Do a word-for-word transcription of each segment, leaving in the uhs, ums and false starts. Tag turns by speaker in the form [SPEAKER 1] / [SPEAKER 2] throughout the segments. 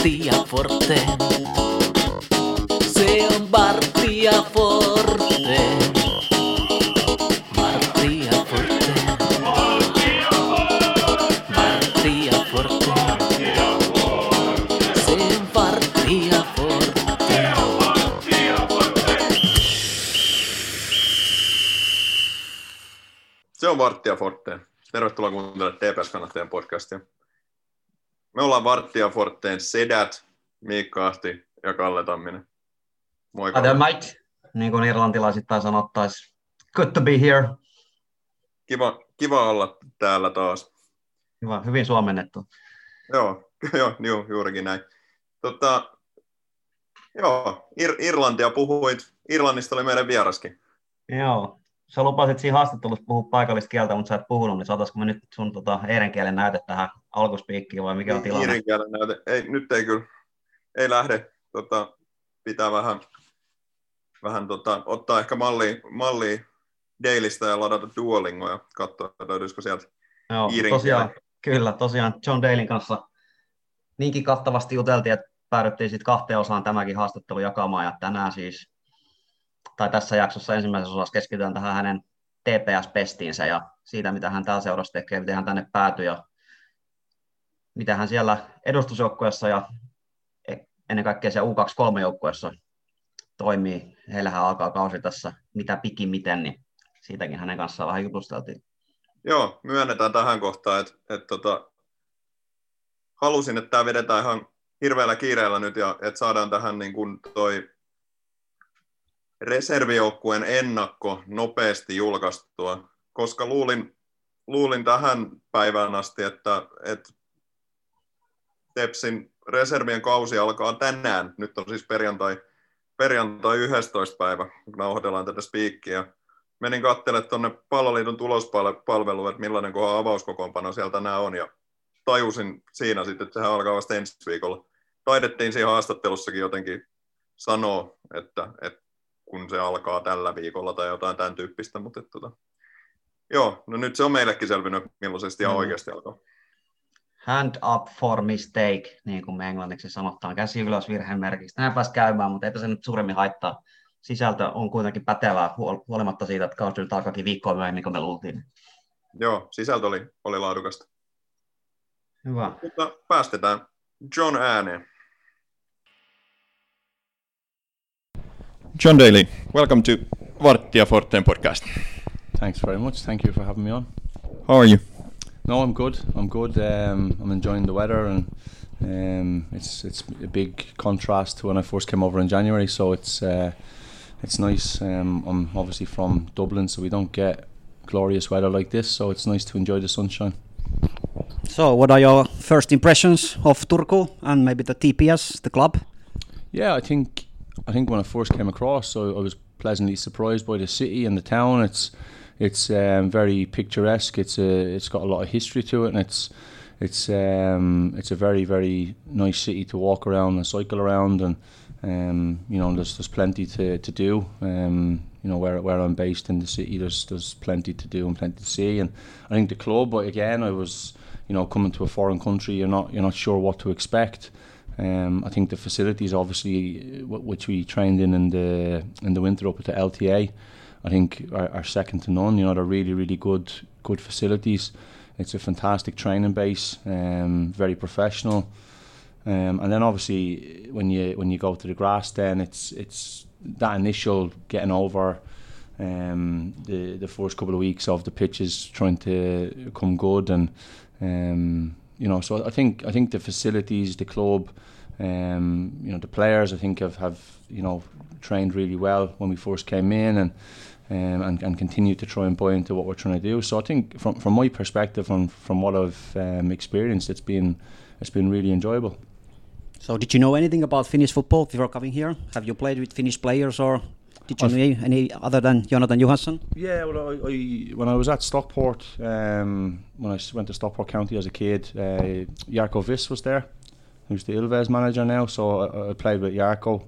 [SPEAKER 1] Martti ja Forte. Se on Martti ja Forte. Martti ja Forte. Martti ja Forte. Se on Martti ja Forte.
[SPEAKER 2] Se on Martti ja Forte. Tervetuloa kuuntelemaan T P S-kannattajien podcastia. Me ollaan Martti ja Forteen sedät, Miikka Ahti ja Kalle Tamminen. Moi Kalle.
[SPEAKER 3] Hi there, mate. Niin kuin irlantilaisittain sanottaisiin, good to be here.
[SPEAKER 2] Kiva, kiva olla täällä taas.
[SPEAKER 3] Hyvä, hyvin suomennettu.
[SPEAKER 2] Joo, joo, joo juurikin näin. Tota, joo, Ir- Irlantia puhuit. Irlannista oli meidän vieraskin.
[SPEAKER 3] Joo, sä lupasit siinä haastattelussa puhua paikallista kieltä, mutta sä et puhunut, niin saataisiko me nyt sun tota, eirenkielen näyte tähän alkuspiikkiin vai mikä on tilanne?
[SPEAKER 2] Eirenkielen näyte, ei, nyt ei kyllä, ei lähde. Tota, pitää vähän, vähän tota, ottaa ehkä mallia, mallia Dailystä ja ladata Duolingoa ja katsoa, löytyisikö sieltä
[SPEAKER 3] Joo,
[SPEAKER 2] iirin
[SPEAKER 3] tosiaan,
[SPEAKER 2] kielen.
[SPEAKER 3] kyllä, tosiaan John Dalyn kanssa niinkin kattavasti juteltiin, että päädyttiin sitten kahteen osaan tämäkin haastattelu jakamaan, ja tänään siis, tai tässä jaksossa ensimmäisessä osassa keskitytään tähän hänen T P S-pestiinsä ja siitä, mitä hän täällä seurassa tekee, miten hän tänne päätyi ja mitä hän siellä edustusjoukkueessa ja ennen kaikkea siellä U kaksikymmentäkolme-joukkueessa toimii. Heillähän alkaa kausi tässä mitä pikimiten, niin siitäkin hänen kanssaan vähän jutusteltiin.
[SPEAKER 2] Joo, myönnetään tähän kohtaan, että, että tota, halusin, että tämä vedetään ihan hirveällä kiireellä nyt ja että saadaan tähän niin kuin toi reservijoukkueen ennakko nopeasti julkaistua, koska luulin, luulin tähän päivään asti, että, että Tepsin reservien kausi alkaa tänään. Nyt on siis perjantai, perjantai yhdestoista päivä, kun nauhoitellaan tätä spiikkiä. Menin katselemaan tuonne Palloliiton tulospalveluun, että millainen kohan avauskokoonpano siellä tänään on, ja tajusin siinä sitten, että sehän alkaa vasta ensi viikolla. Taidettiin siinä haastattelussakin jotenkin sanoa, että, että kun se alkaa tällä viikolla tai jotain tämän tyyppistä, mutta että, tota, joo, no nyt se on meillekin selvinnyt, millaisesti ihan oikeasti alkaa.
[SPEAKER 3] Hand up for mistake, niin kuin me englanniksi sanotaan, käsi ylös virhemerkistä. Näin pääsi käymään, mutta eipä se nyt suuremmin haittaa. Sisältö on kuitenkin pätevää, huolimatta siitä, että kausi nyt alkaakin viikkoa myöhemmin, kuin me luultiin.
[SPEAKER 2] Joo, sisältö oli, oli laadukasta.
[SPEAKER 3] Hyvä.
[SPEAKER 2] Mutta päästetään John ääneen.
[SPEAKER 4] John Daly, welcome to Vartti ja Forteen podcast.
[SPEAKER 5] Thanks very much. Thank you for having me on.
[SPEAKER 4] How are you?
[SPEAKER 5] No, I'm good. I'm good. Um, I'm enjoying the weather, and um, it's it's a big contrast to when I first came over in January. So it's uh, it's nice. Um, I'm obviously from Dublin, so we don't get glorious weather like this. So it's nice to enjoy the sunshine.
[SPEAKER 6] So, what are your first impressions of Turku and maybe the T P S, the club?
[SPEAKER 5] Yeah, I think I think when I first came across, so I was pleasantly surprised by the city and the town. It's it's um, very picturesque. It's a it's got a lot of history to it, and it's it's um, it's a very very nice city to walk around and cycle around, and um, you know there's there's plenty to to do. Um, you know where where I'm based in the city, there's there's plenty to do and plenty to see, and I think the club. But again, I was you know coming to a foreign country, you're not you're not sure what to expect. Um, I think the facilities, obviously, w- which we trained in in the in the winter up at the L T A, I think are, are second to none. You know, they're really, really good, good facilities. It's a fantastic training base, um, very professional. Um, and then obviously, when you when you go to the grass, then it's it's that initial getting over um, the the first couple of weeks of the pitches trying to come good, and um, you know, so I think I think the facilities, the club, um, you know, the players, I think have, have you know trained really well when we first came in, and um, and and continue to try and buy into what we're trying to do. So I think from from my perspective, from from what I've um, experienced, it's been it's been really enjoyable.
[SPEAKER 6] So did you know anything about Finnish football before coming here? Have you played with Finnish players, or did you
[SPEAKER 5] I've
[SPEAKER 6] know any other than Jonathan Johansson?
[SPEAKER 5] Yeah, well, I, I, when I was at Stockport, um, when I went to Stockport County as a kid, uh, Jarko Viss was there, who's the Ilves manager now. So I, I played with Jarko,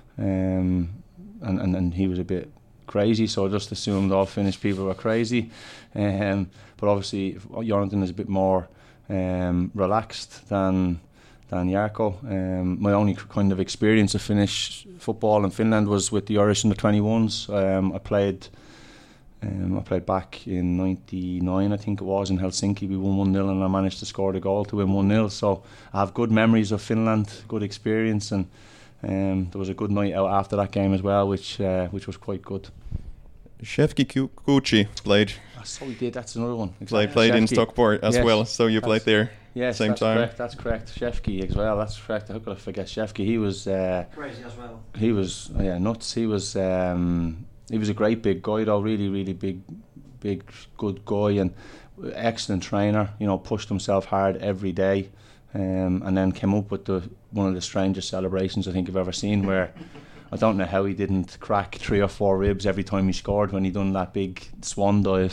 [SPEAKER 5] um, and, and and he was a bit crazy. So I just assumed all Finnish people were crazy. Um, but obviously, Jonathan is a bit more um, relaxed than than Jarkko. Um, my only kind of experience of Finnish football in Finland was with the Irish under twenty-ones. Um, I played. Um, I played back in ninety-nine, I think it was, in Helsinki. We won one nil and I managed to score the goal to win one nil. So I have good memories of Finland, good experience, and um, there was a good night out after that game as well, which uh, which was quite good.
[SPEAKER 4] Shefki Kuuchi played.
[SPEAKER 5] Oh, so we did, that's another one.
[SPEAKER 4] Exactly. Played, played in Stockport as
[SPEAKER 5] yes,
[SPEAKER 4] well, so you played there
[SPEAKER 5] yes,
[SPEAKER 4] same
[SPEAKER 5] that's
[SPEAKER 4] time.
[SPEAKER 5] Correct, that's correct. Shefki as well, that's correct. How could I forget Shefki? He was... Uh,
[SPEAKER 6] Crazy as well.
[SPEAKER 5] He was, oh yeah, nuts. He was... Um, He was a great big guy though, really, really big, big, good guy, and excellent trainer. You know, pushed himself hard every day, um, and then came up with the one of the strangest celebrations I think I've ever seen. Where I don't know how he didn't crack three or four ribs every time he scored when he done that big swan dive.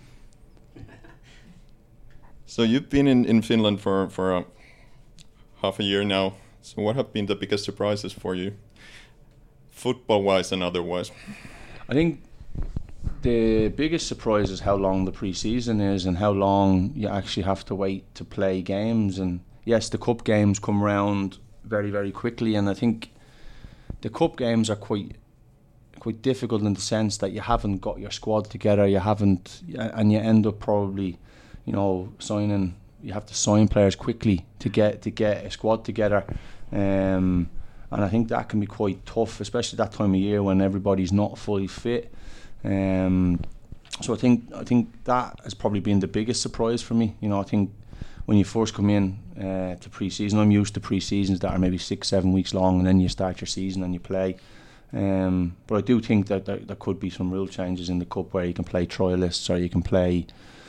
[SPEAKER 4] So you've been in, in Finland for for uh, half a year now. So what have been the biggest surprises for you, football-wise and otherwise?
[SPEAKER 5] I think the biggest surprise is how long the pre-season is and how long you actually have to wait to play games. And yes, the cup games come around very, very quickly, and I think the cup games are quite quite difficult in the sense that you haven't got your squad together, you haven't, and you end up probably, you know, signing. You have to sign players quickly to get to get a squad together. Um, And I think that can be quite tough, especially that time of year when everybody's not fully fit. Um, so I think I think that has probably been the biggest surprise for me. You know, I think when you first come in uh, to pre-season, I'm used to pre-seasons that are maybe six, seven weeks long, and then you start your season and you play. Um, but I do think that there, there could be some rule changes in the cup where you can play trialists or you can play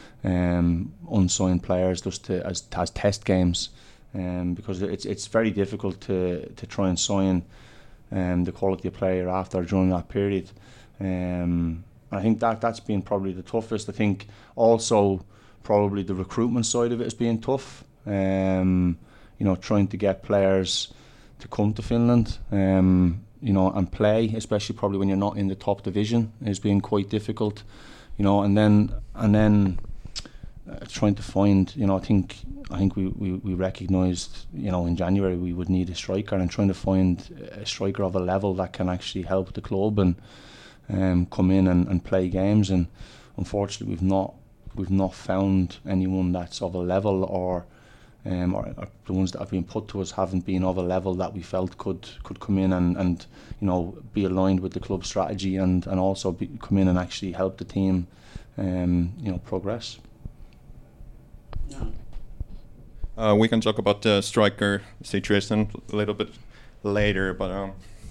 [SPEAKER 5] um, unsigned players just to, as as test games. Um, because it's it's very difficult to, to try and sign um, the quality of player after during that period. Um, I think that that's been probably the toughest. I think also probably the recruitment side of it has been tough. Um, you know, trying to get players to come to Finland, um, you know, and play, especially probably when you're not in the top division, has been quite difficult. You know, and then and then. Uh, trying to find, you know, I think I think we, we, we recognised, you know, in January we would need a striker, and trying to find a striker of a level that can actually help the club and um, come in and, and play games. And unfortunately, we've not we've not found anyone that's of a level, or um, or, or the ones that have been put to us haven't been of a level that we felt could could come in and, and you know, be aligned with the club's strategy and and also be, come in and actually help the team, um, you know, progress.
[SPEAKER 4] Uh, we can talk about the striker situation a little bit later, but um,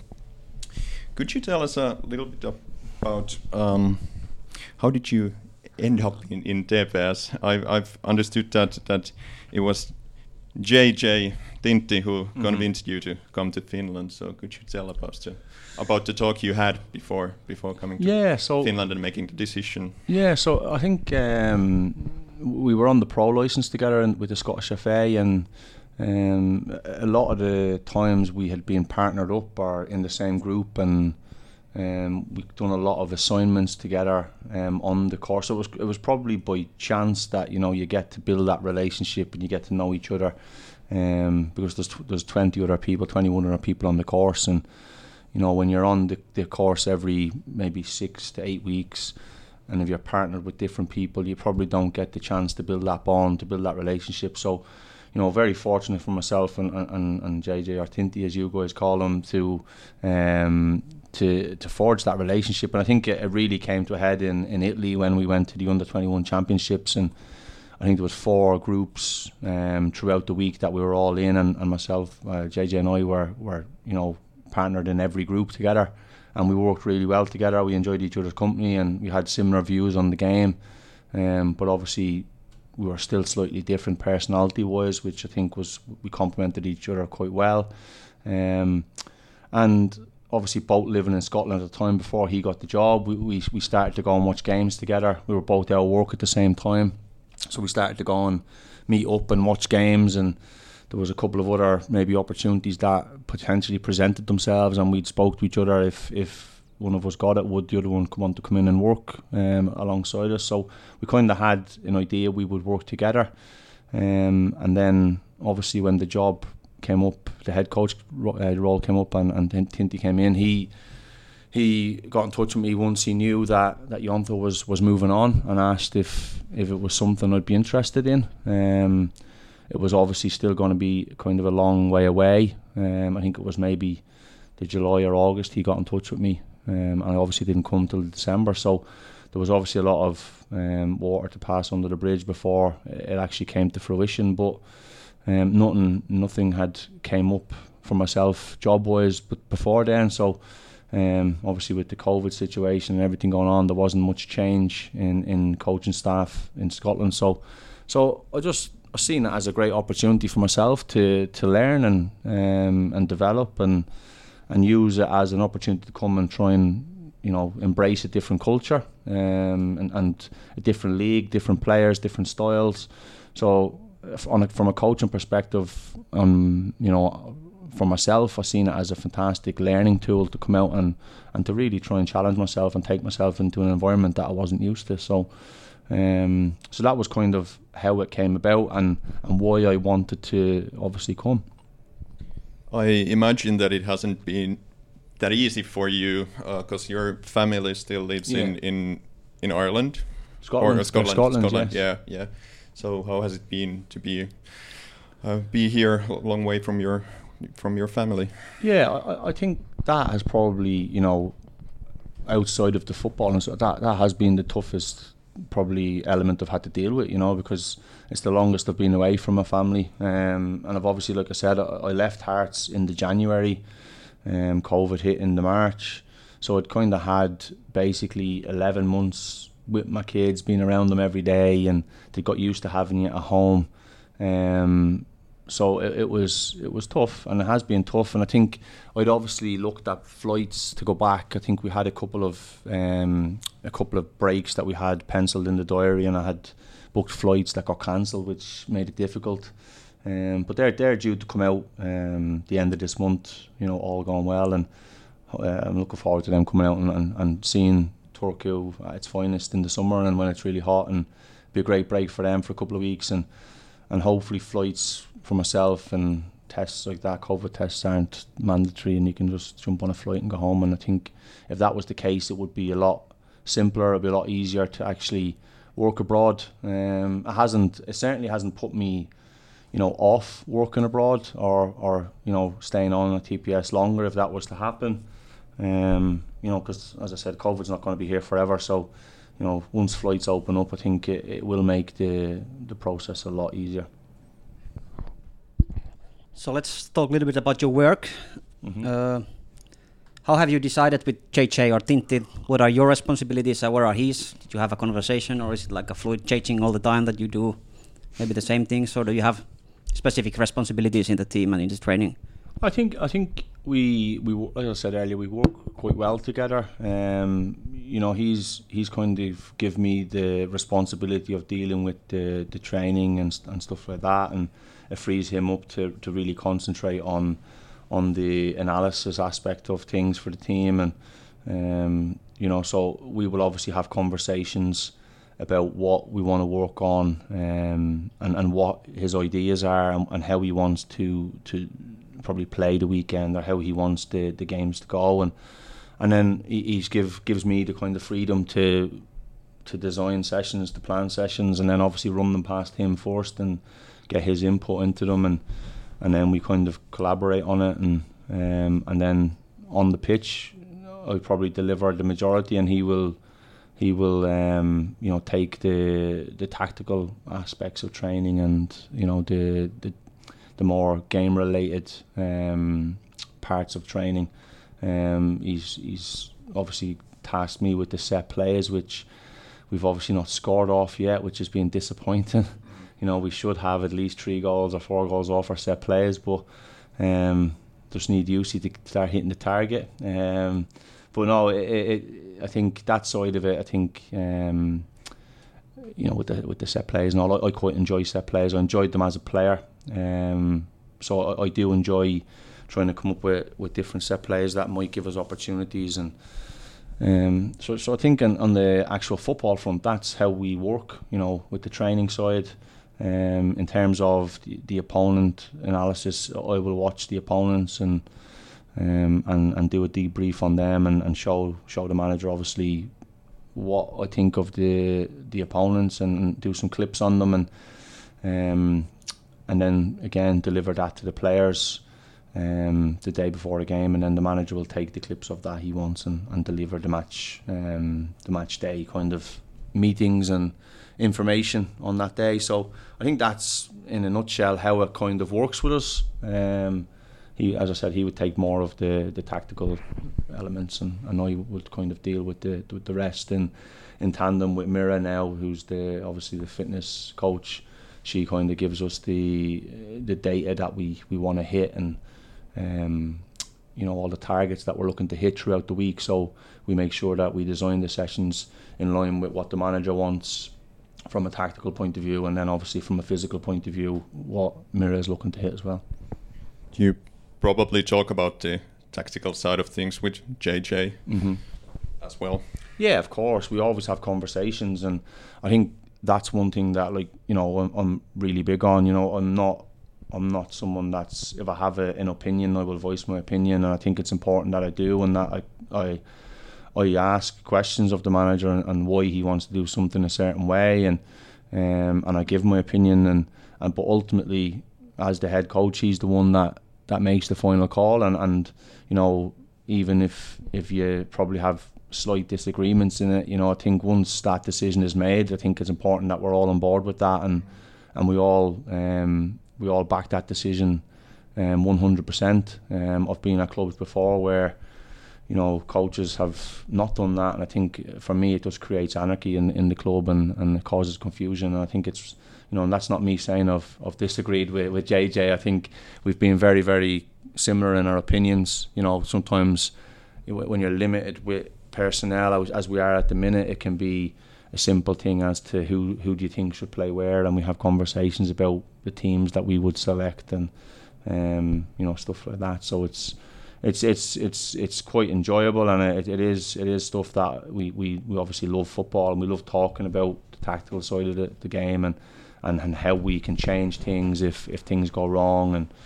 [SPEAKER 4] could you tell us a little bit about um, how did you end up in, in T P S? I've, I've understood that that it was J J Tintti who mm-hmm. convinced you to come to Finland. So could you tell about the about the talk you had before before coming to
[SPEAKER 5] yeah, so
[SPEAKER 4] Finland and making the decision?
[SPEAKER 5] Yeah, so I think. Um, We were on the pro license together and with the Scottish F A, and um, a lot of the times we had been partnered up or in the same group, and um, we've done a lot of assignments together um, on the course. So it was it was probably by chance that, you know, you get to build that relationship and you get to know each other, um, because there's there's twenty other people, twenty-one other people on the course, and you know, when you're on the, the course every maybe six to eight weeks. And if you're partnered with different people, you probably don't get the chance to build that bond, to build that relationship. So, you know, very fortunate for myself and and, and J J, or Tintti as you guys call him, to um, to to forge that relationship. And I think it, it really came to a head in, in Italy when we went to the under twenty-one championships. And I think there was four groups um, throughout the week that we were all in, and, and myself, uh, J J and I were, were, you know, partnered in every group together. And we worked really well together. We enjoyed each other's company, and we had similar views on the game. Um, but obviously, we were still slightly different personality-wise, which I think was we complemented each other quite well. Um, and obviously, both living in Scotland at the time before he got the job, we, we we started to go and watch games together. We were both out of work at the same time, so we started to go and meet up and watch games. And there was a couple of other maybe opportunities that potentially presented themselves, and we'd spoke to each other if if one of us got it, would the other one want to come in and work um, alongside us. So we kind of had an idea we would work together, um, and then obviously when the job came up, the head coach uh, role came up, and and Tinty came in. He he got in touch with me once he knew that that Jonta was was moving on, and asked if if it was something I'd be interested in. Um, it was obviously still going to be kind of a long way away. Um, I think it was maybe the July or August he got in touch with me, um, and I obviously didn't come till December. So there was obviously a lot of um, water to pass under the bridge before it actually came to fruition. But um, nothing, nothing had came up for myself job-wise, but before then. So um, obviously with the COVID situation and everything going on, there wasn't much change in, in coaching staff in Scotland. So, so I just I seen it as a great opportunity for myself to to learn and um, and develop and and use it as an opportunity to come and try and, you know, embrace a different culture um, and, and a different league, different players, different styles. So on a, from a coaching perspective, um, you know, for myself, I've seen it as a fantastic learning tool to come out and, and to really try and challenge myself and take myself into an environment that I wasn't used to. So um, so that was kind of how it came about and, and why I wanted to obviously come.
[SPEAKER 4] I imagine that it hasn't been that easy for you because uh, your family still lives yeah. in, in in Ireland,
[SPEAKER 5] Scotland,
[SPEAKER 4] or Scotland,
[SPEAKER 5] Scotland,
[SPEAKER 4] Scotland.
[SPEAKER 5] Yes.
[SPEAKER 4] Yeah, yeah. So how has it been to be uh, be here a long way from your from your family?
[SPEAKER 5] Yeah, I, I think that has probably, you know, outside of the football and so that that has been the toughest probably element I've had to deal with, you know, because it's the longest I've been away from my family, um, and I've obviously, like I said, I, I left Hearts in the January. Um, COVID hit in the March, so I'd kind of had basically eleven months with my kids, being around them every day, and they got used to having you at home. Um, so it, it was it was tough, and it has been tough. And I think I'd obviously looked at flights to go back. I think we had a couple of um, a couple of breaks that we had penciled in the diary, and I had booked flights that got cancelled, which made it difficult. Um, but they're they're due to come out um, the end of this month, you know, all going well, and uh, I'm looking forward to them coming out and, and, and seeing Turku at its finest in the summer and when it's really hot, and be a great break for them for a couple of weeks, and and hopefully flights for myself and tests like that, COVID tests aren't mandatory and you can just jump on a flight and go home. And I think if that was the case, it would be a lot simpler, it'd be a lot easier to actually work abroad. Um, it hasn't, it certainly hasn't put me, you know, off working abroad or, or you know, staying on a T P S longer if that was to happen. Um, you know, because as I said, COVID's not going to be here forever. So, you know, once flights open up, I think it, it will make the the process a lot easier.
[SPEAKER 6] So let's talk a little bit about your work. Mm-hmm. Uh, how have you decided with J J or Tinty? What are your responsibilities and what are his? Did you have a conversation, or is it like a fluid changing all the time that you do maybe the same things, or do you have specific responsibilities in the team and in the training?
[SPEAKER 5] I think I think we we like I said earlier, we work quite well together. Um, you know, he's he's kind of give me the responsibility of dealing with the the training and and stuff like that, and it frees him up to to really concentrate on on the analysis aspect of things for the team. And um, you know, so we will obviously have conversations about what we want to work on, um, and and what his ideas are, and, and how he wants to to probably play the weekend, or how he wants the, the games to go, and and then he he's give gives me the kind of freedom to to design sessions, to plan sessions, and then obviously run them past him first and get his input into them, and and then we kind of collaborate on it, and um, and then on the pitch I probably deliver the majority, and he will he will um, you know, take the the tactical aspects of training, and you know, the the the more game related um, parts of training. Um, he's he's obviously tasked me with the set plays, which we've obviously not scored off yet, which has been disappointing. You know, we should have at least three goals or four goals off our set plays, but um, just need Jussi to start hitting the target. Um, but no, it, it, I think that side of it, I think um, you know, with the with the set plays and all, I, I quite enjoy set plays. I enjoyed them as a player. Um, so I, I do enjoy trying to come up with, with different set plays that might give us opportunities, and um, so so I think on, on the actual football front, that's how we work. You know, with the training side, Um, in terms of the, the opponent analysis, I will watch the opponents and um, and and do a debrief on them and, and show show the manager obviously what I think of the the opponents and do some clips on them and um, and then again deliver that to the players um, the day before the game, and then the manager will take the clips of that he wants and, and deliver the match um, the match day kind of meetings and information on that day. So I think that's in a nutshell how it kind of works with us. Um, he, as I said, he would take more of the, the tactical elements, and, and I would kind of deal with the with the rest in in tandem with Mira now, who's the obviously the fitness coach. She kind of gives us the the data that we, we want to hit and um, you know all the targets that we're looking to hit throughout the week. So we make sure that we design the sessions in line with what the manager wants from a tactical point of view, and then obviously from a physical point of view what Mira is looking to hit as well.
[SPEAKER 4] You probably talk about the tactical side of things with J J
[SPEAKER 5] mm-hmm.
[SPEAKER 4] as well.
[SPEAKER 5] Yeah, of course. We always have conversations, and I think that's one thing that, like, you know, I'm, I'm really big on. You know, I'm not, I'm not someone that's, if I have a, an opinion, I will voice my opinion, and I think it's important that I do, and that I, I, I ask questions of the manager and, and why he wants to do something a certain way, and um, and I give my opinion, and, and but ultimately, as the head coach, he's the one that. that makes the final call, and, and you know, even if if you probably have slight disagreements in it, you know, I think once that decision is made, I think it's important that we're all on board with that, and and we all um, we all back that decision um, one hundred percent. Um, I've been at clubs before where, you know, coaches have not done that, and I think for me it just creates anarchy in, in the club, and, and it causes confusion, and I think it's, you know, and that's not me saying I've, I've disagreed with, with J J. I think we've been very, very similar in our opinions. You know, sometimes when you're limited with personnel, as we are at the minute, it can be a simple thing as to who, who do you think should play where, and we have conversations about the teams that we would select and, um, you know, stuff like that. So it's it's it's it's it's quite enjoyable, and it, it is it is stuff that we, we, we obviously love football, and we love talking about the tactical side of the, the game, and And, and how we can change things if, if things go wrong, and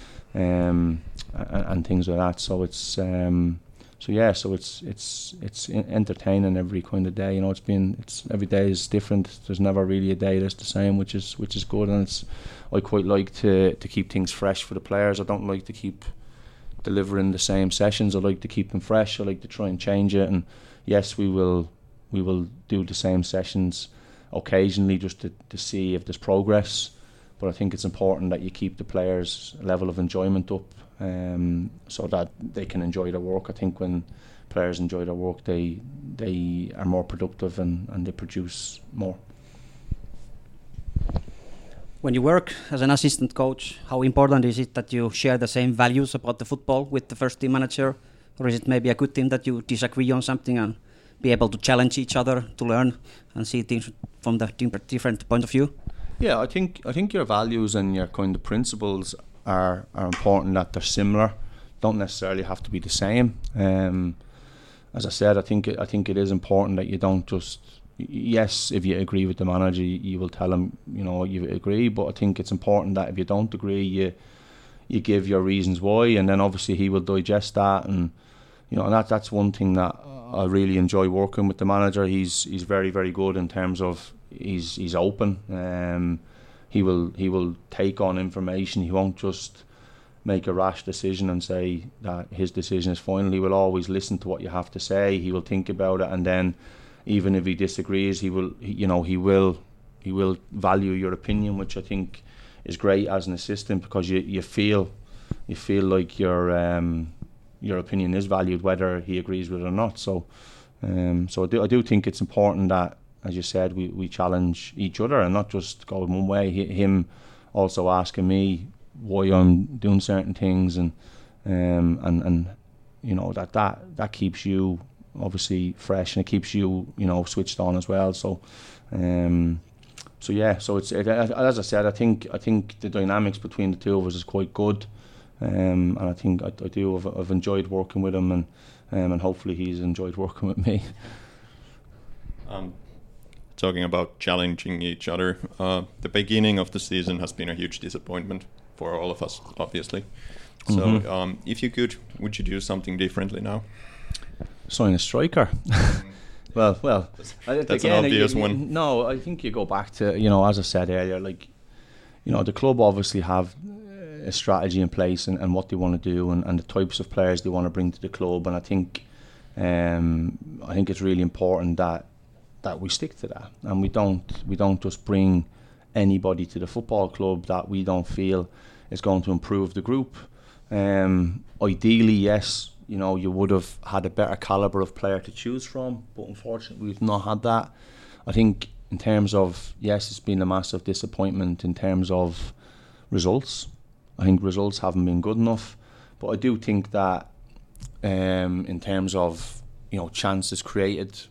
[SPEAKER 5] um and, and things like that. So it's um so yeah so it's it's it's entertaining every kind of day. You know, it's been it's every day is different. There's never really a day that's the same, which is which is good. And it's I quite like to to keep things fresh for the players. I don't like to keep delivering the same sessions. I like to keep them fresh. I like to try and change it. And yes, we will we will do the same sessions occasionally just to, to see if there's progress, but I think it's important that you keep the players' level of enjoyment up, um, so that they can enjoy their work. I think when players enjoy their work, they they are more productive and, and they produce more.
[SPEAKER 6] When you work as an assistant coach, how important is it that you share the same values about the football with the first team manager, or is it maybe a good thing that you disagree on something and be able to challenge each other to learn and see things from the different point of view?
[SPEAKER 5] Yeah, I think I think your values and your kind of principles are are important, that they're similar. Don't necessarily have to be the same. Um, as I said, I think it, I think it is important that you don't just, yes, if you agree with the manager, you, you will tell him, you know, you agree. But I think it's important that if you don't agree, you you give your reasons why, and then obviously he will digest that, and you know, and that that's one thing that I really enjoy working with the manager. He's he's very very good in terms of he's he's open. Um, he will he will take on information. He won't just make a rash decision and say that his decision is final. He will always listen to what you have to say. He will think about it, and then even if he disagrees, he will he, you know he will he will value your opinion, which I think is great as an assistant, because you you feel you feel like you're. Um, your opinion is valued whether he agrees with it or not. So um, so I do, I do think it's important that, as you said, we, we challenge each other and not just go one way. He, him also asking me why I'm doing certain things, and um, and and you know that, that that keeps you obviously fresh, and it keeps you you know switched on as well. So um, so yeah, so it's it, as I said, I think I think the dynamics between the two of us is quite good. Um, and I think I, I do. I've, I've enjoyed working with him, and um, and hopefully he's enjoyed working with me.
[SPEAKER 4] Um, talking about challenging each other. Uh, the beginning of the season has been a huge disappointment for all of us, obviously. So,
[SPEAKER 5] Mm-hmm.
[SPEAKER 4] um, if you could, would you do something differently now?
[SPEAKER 5] Sign a striker. well, well, I-
[SPEAKER 4] That's an
[SPEAKER 5] again,
[SPEAKER 4] obvious
[SPEAKER 5] you- you-
[SPEAKER 4] one.
[SPEAKER 5] No, I think you go back to, you know, as I said earlier, like, you know, the club obviously have a strategy in place and, and what they want to do and, and the types of players they want to bring to the club, and I think, um, I think it's really important that that we stick to that and we don't we don't just bring anybody to the football club that we don't feel is going to improve the group. Um, ideally, yes, you know, you would have had a better calibre of player to choose from, but unfortunately we've not had that. I think in terms of, yes, it's been a massive disappointment in terms of results. I think results haven't been good enough, but I do think that um, in terms of, you know, chances created,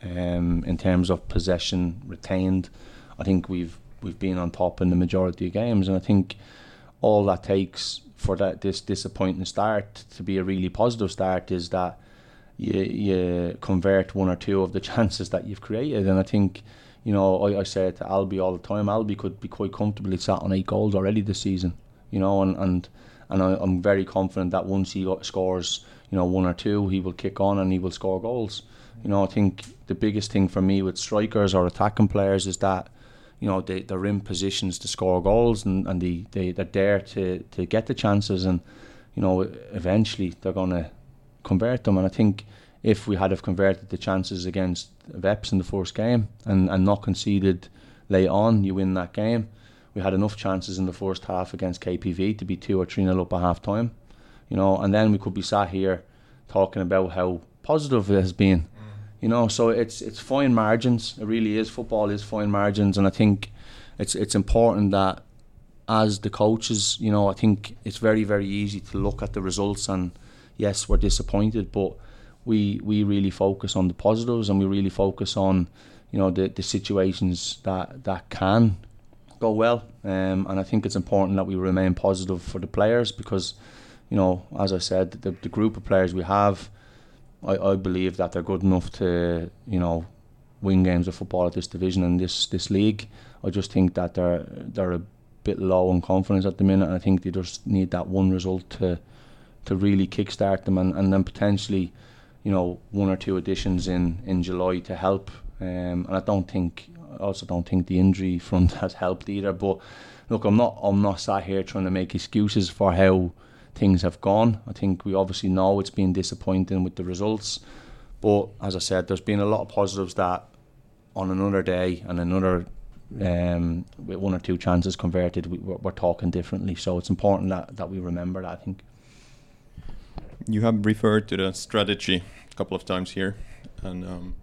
[SPEAKER 5] um, in terms of possession retained, I think we've we've been on top in the majority of games, and I think all that takes for that this disappointing start to be a really positive start is that you you convert one or two of the chances that you've created. And I think, you know, I, I say it to Albi all the time, Albi could be quite comfortably sat on eight goals already this season, you know, and and, and I, I'm very confident that once he got, scores, you know, one or two, he will kick on and he will score goals. You know, I think the biggest thing for me with strikers or attacking players is that, you know, they, they're in positions to score goals and, and they, they, they're there to, to get the chances, and, you know, eventually they're going to convert them. And I think if we had have converted the chances against Veps in the first game and, and not conceded late on, you win that game. We had enough chances in the first half against K P V to be two or three nil up at half time, you know, and then we could be sat here talking about how positive it has been. You know, so it's it's fine margins. It really is. Football is fine margins, and I think it's it's important that as the coaches, you know, I think it's very very easy to look at the results and yes, we're disappointed, but we we really focus on the positives and we really focus on, you know, the the situations that that can go well. Um, and I think it's important that we remain positive for the players because, you know, as I said, the the group of players we have, I, I believe that they're good enough to, you know, win games of football at this division and this this league. I just think that they're they're a bit low on confidence at the minute, and I think they just need that one result to to really kickstart them, and, and then potentially, you know, one or two additions in, in July to help. Um, and I don't think, I also don't think the injury front has helped either. But look, I'm not I'm not sat here trying to make excuses for how things have gone. I think we obviously know it's been disappointing with the results, but as I said, there's been a lot of positives that on another day and another um, with one or two chances converted, we, we're, we're talking differently. So it's important that, that we remember that, I think.
[SPEAKER 4] You have referred to the strategy a couple of times here, and um,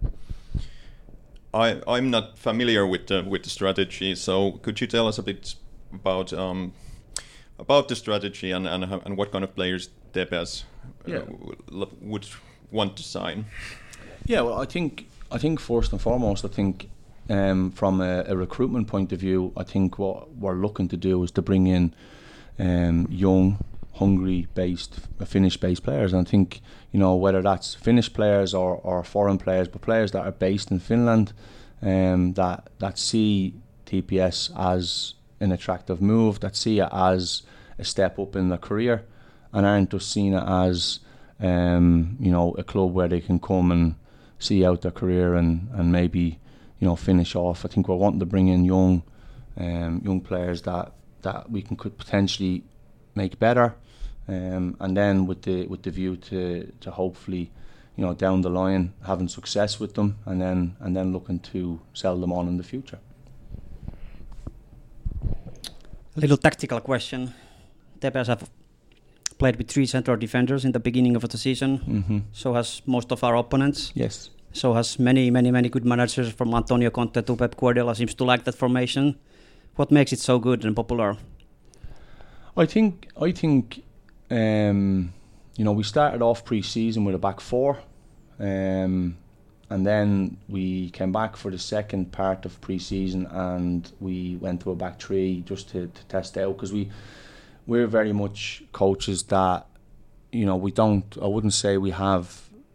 [SPEAKER 4] I I'm not familiar with the with the strategy. So could you tell us a bit about um, about the strategy and and, how, and what kind of players Tepes uh,
[SPEAKER 5] Yeah.
[SPEAKER 4] w- would want to sign?
[SPEAKER 5] Yeah, well, I think I think first and foremost, I think um, from a, a recruitment point of view, I think what we're looking to do is to bring in um, young, Hungary-based, Finnish-based players. And I think, you know, whether that's Finnish players or, or foreign players, but players that are based in Finland, um, that that see T P S as an attractive move, that see it as a step up in their career, and aren't just seeing it as um, you know, a club where they can come and see out their career and, and maybe, you know, finish off. I think we're wanting to bring in young um, young players that, that we can could potentially make better, um, and then with the with the view to, to hopefully, you know, down the line having success with them, and then and then looking to sell them on in the future.
[SPEAKER 6] A little tactical question. Tepes have played with three central defenders in the beginning of the season.
[SPEAKER 5] Mm-hmm.
[SPEAKER 6] So has most of our opponents.
[SPEAKER 5] Yes.
[SPEAKER 6] So has many, many, many good managers from Antonio Conte to Pep Guardiola seems to like that formation. What makes it so good and popular?
[SPEAKER 5] I think I think um, you know, we started off pre-season with a back four, um, and then we came back for the second part of pre-season and we went to a back three just to, to test out, because we we're very much coaches that, you know, we don't, I wouldn't say we have,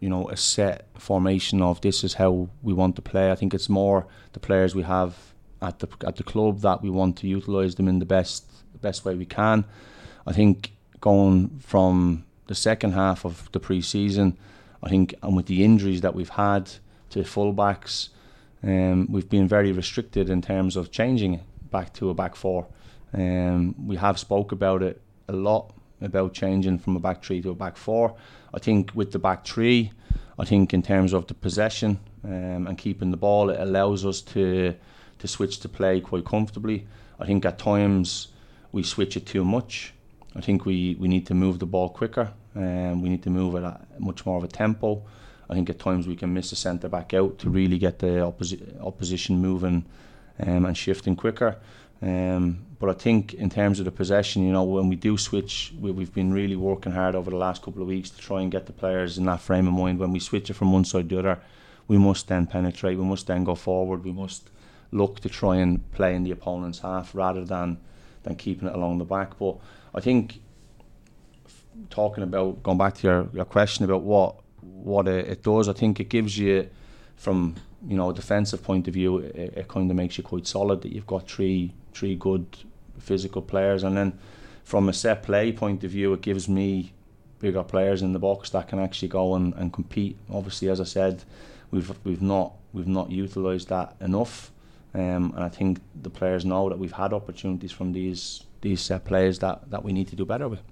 [SPEAKER 5] you know, a set formation of this is how we want to play. I think it's more the players we have at the at the club that we want to utilise them in the best the best way we can. I think going from the second half of the pre-season, I think, and with the injuries that we've had to fullbacks, um, we've been very restricted in terms of changing back to a back four. Um, we have spoke about it a lot, about changing from a back three to a back four. I think with the back three, I think in terms of the possession um, and keeping the ball, it allows us to to switch to play quite comfortably. I think at times we switch it too much. I think we, we need to move the ball quicker, and um, we need to move it at much more of a tempo. I think at times we can miss the centre back out to really get the opposi- opposition moving um, and shifting quicker. Um, but I think in terms of the possession, you know, when we do switch, we, we've been really working hard over the last couple of weeks to try and get the players in that frame of mind. When we switch it from one side to the other, we must then penetrate, we must then go forward, we must look to try and play in the opponent's half rather than, than keeping it along the back. But I think, talking about, going back to your, your question about what what it, it does, I think it gives you, from, you know, a defensive point of view, it, it kind of makes you quite solid that you've got three three good physical players, and then from a set play point of view, it gives me bigger players in the box that can actually go and, and compete. Obviously, as I said, we've we've not we've not utilised that enough, um, and I think the players know that we've had opportunities from these these set plays that, that we need to do better with.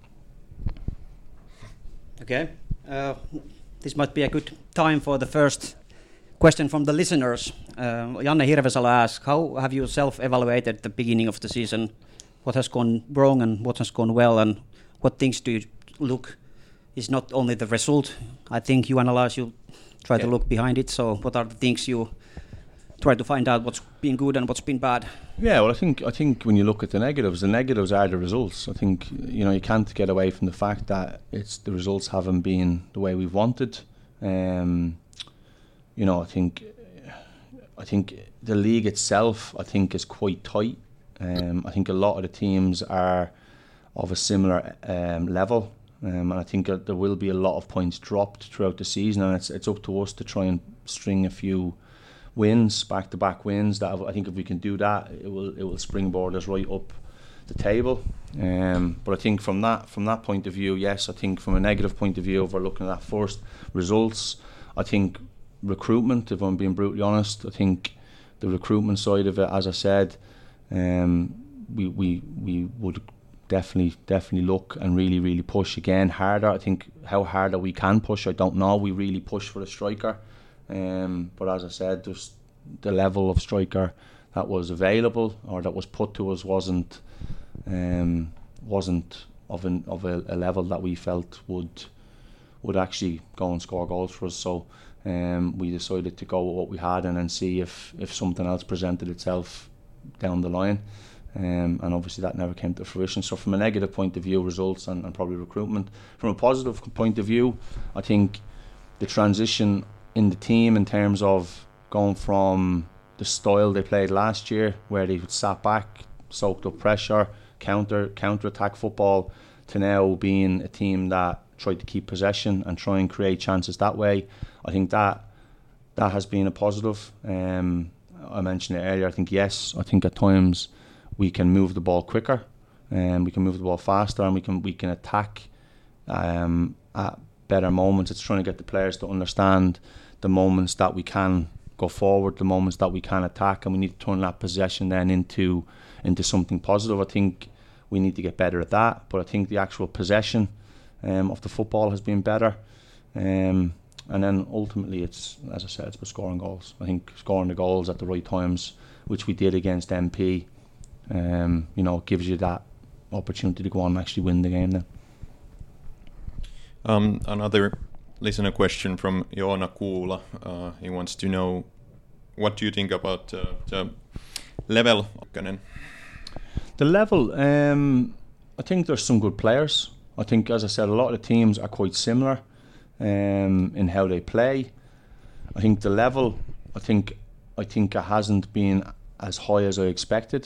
[SPEAKER 6] Okay, uh, this might be a good time for the first question from the listeners. Uh, Janne Hirvesalo asks, how have you self-evaluated the beginning of the season? What has gone wrong and what has gone well, and what things do you look? Is not only the result. I think you analyze, you try yeah. to look behind it. So what are the things you try to find out what's been good and what's been bad?
[SPEAKER 5] Yeah, well, I think I think when you look at the negatives, the negatives are the results. I think, you know, you can't get away from the fact that it's the results haven't been the way we've wanted. Um, you know, I think I think the league itself, I think, is quite tight. Um, I think a lot of the teams are of a similar um, level, um, and I think that there will be a lot of points dropped throughout the season, and it's it's up to us to try and string a few wins, back-to-back wins. That I think if we can do that, it will it will springboard us right up the table. Um, but I think from that from that point of view, yes, I think from a negative point of view, if we're looking at that first results, I think recruitment, if I'm being brutally honest, I think the recruitment side of it, as I said, um, we we we would definitely definitely look and really really push again harder. I think how harder we can push, I don't know. We really push for a striker. Um, but as I said, just the level of striker that was available or that was put to us wasn't um, wasn't of an of a, a level that we felt would would actually go and score goals for us. So um, we decided to go with what we had and then see if if something else presented itself down the line. Um, and obviously that never came to fruition. So from a negative point of view, results and, and probably recruitment. From a positive point of view, I think the transition in the team in terms of going from the style they played last year, where they sat back, soaked up pressure, counter counter attack football, to now being a team that tried to keep possession and try and create chances that way. I think that that has been a positive. Um, I mentioned it earlier. I think yes, I think at times we can move the ball quicker, and we can move the ball faster, and we can we can attack um, at better moments. It's trying to get the players to understand the moments that we can go forward, the moments that we can attack, and we need to turn that possession then into into something positive. I think we need to get better at that, but I think the actual possession um, of the football has been better. Um, and then ultimately, it's, as I said, it's about scoring goals. I think scoring the goals at the right times, which we did against M P, um, you know, gives you that opportunity to go on and actually win the game then.
[SPEAKER 4] Um, another listener question from Joona Kuula. Uh, he wants to know, what do you think about uh, the level?
[SPEAKER 5] The level, um, I think there's some good players. I think, as I said, a lot of the teams are quite similar um, in how they play. I think the level, I think, I think it hasn't been as high as I expected,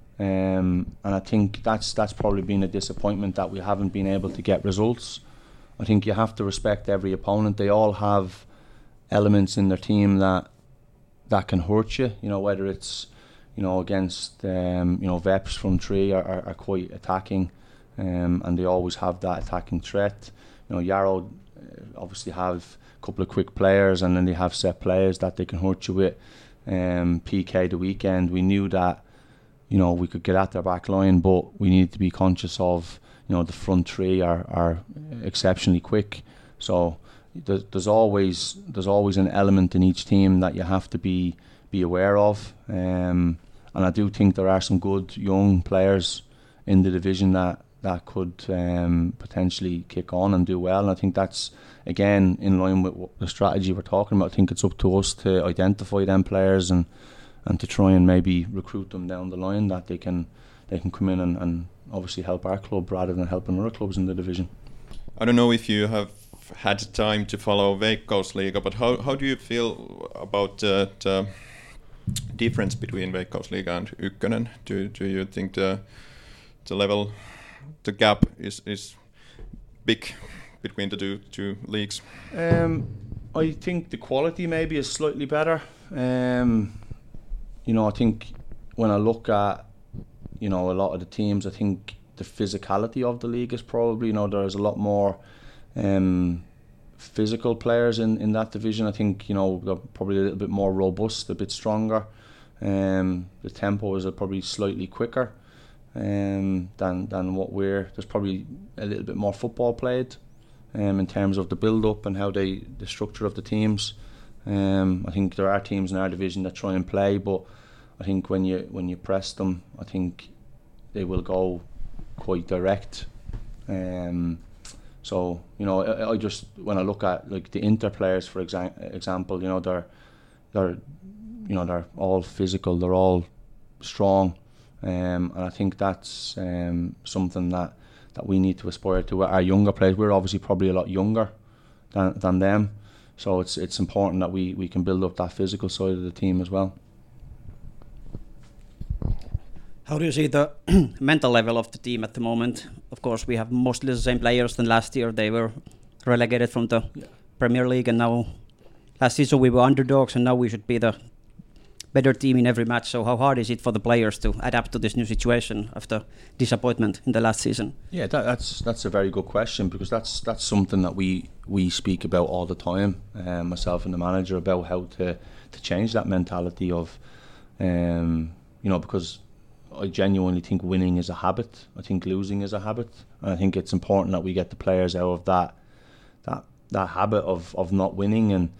[SPEAKER 5] um, and I think that's that's probably been a disappointment that we haven't been able to get results. I think you have to respect every opponent. They all have elements in their team that that can hurt you. You know, whether it's you know against um, you know Veps from three are, are, are quite attacking, um, and they always have that attacking threat. You know, Yarrow uh, obviously have a couple of quick players, and then they have set players that they can hurt you with. Um, P K the weekend, we knew that you know we could get at their back line, but we needed to be conscious of you know the front three are are exceptionally quick. So there's, there's always there's always an element in each team that you have to be be aware of. Um, and I do think there are some good young players in the division that that could um, potentially kick on and do well. And I think that's again in line with what the strategy we're talking about. I think it's up to us to identify them players and and to try and maybe recruit them down the line that they can they can come in and, and obviously help our club rather than helping other clubs in the division.
[SPEAKER 4] I don't know if you have had time to follow Veikkausliiga, but how how do you feel about uh, the difference between Veikkausliiga and Ykkönen? Do do you think the the level, the gap is is big between the two two leagues?
[SPEAKER 5] Um, I think the quality maybe is slightly better. Um, you know, I think when I look at you know a lot of the teams, I think the physicality of the league is probably you know there's a lot more um, physical players in, in that division. I think you know they're probably a little bit more robust, a bit stronger. Um, the tempo is probably slightly quicker um, than than what we're. There's probably a little bit more football played um, in terms of the build up and how they the structure of the teams. Um, I think there are teams in our division that try and play, but I think when you when you press them, I think they will go quite direct. Um, so you know, I, I just when I look at like the Inter players, for exa- example, you know they're they're you know they're all physical, they're all strong, um, and I think that's um, something that, that we need to aspire to. Our younger players, we're obviously probably a lot younger than than them, so it's it's important that we, we can build up that physical side of the team as well.
[SPEAKER 6] How do you see the mental level of the team at the moment? Of course, we have mostly the same players than last year. They were relegated from the yeah. Premier League, and now last season we were underdogs, and now we should be the better team in every match. So how hard is it for the players to adapt to this new situation after disappointment in the last season?
[SPEAKER 5] Yeah, that, that's that's a very good question, because that's that's something that we we speak about all the time, um, myself and the manager, about how to to change that mentality of, um, you know, because I genuinely think winning is a habit. I think losing is a habit, and I think it's important that we get the players out of that that that habit of, of not winning. And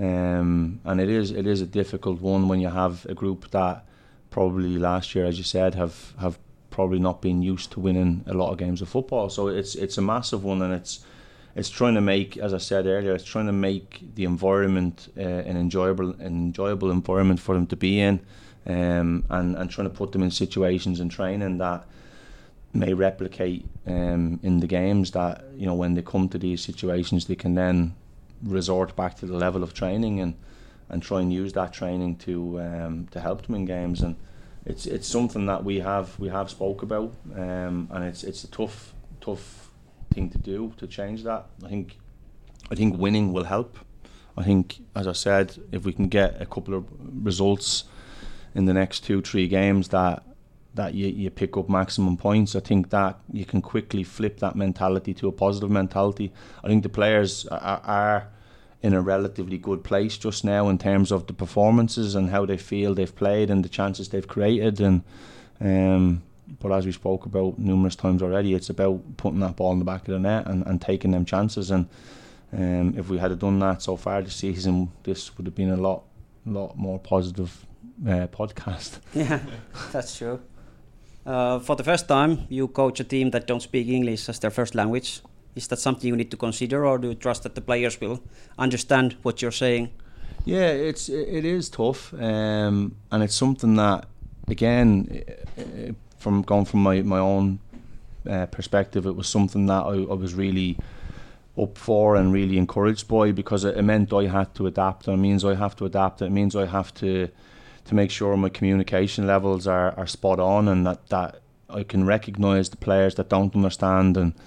[SPEAKER 5] um, and it is it is a difficult one when you have a group that probably last year, as you said, have have probably not been used to winning a lot of games of football. So it's it's a massive one, and it's it's trying to make, as I said earlier, it's trying to make the environment uh, an enjoyable an enjoyable environment for them to be in. Um, and, and trying to put them in situations in training that may replicate um, in the games, that you know when they come to these situations they can then resort back to the level of training and, and try and use that training to um, to help them in games. And it's it's something that we have we have spoke about, um, and it's it's a tough tough thing to do, to change that. I think I think winning will help. I think, as I said, if we can get a couple of results in the next two, three games that that you, you pick up maximum points, I think that you can quickly flip that mentality to a positive mentality. I think the players are, are in a relatively good place just now in terms of the performances and how they feel they've played and the chances they've created. And um, but as we spoke about numerous times already, it's about putting that ball in the back of the net and, and taking them chances. And um, if we had done that so far this season, this would have been a lot, lot more positive Uh, podcast.
[SPEAKER 6] Yeah, that's true. Uh, for the first time, you coach a team that don't speak English as their first language. Is that something you need to consider, or do you trust that the players will understand what you're saying?
[SPEAKER 5] Yeah, it's it is tough, um, and it's something that, again, from going from my my own uh, perspective, it was something that I, I was really up for and really encouraged by, because it, it meant I had to adapt. And it means I have to adapt. It means I have to. to make sure my communication levels are, are spot on, and that, that I can recognise the players that don't understand, and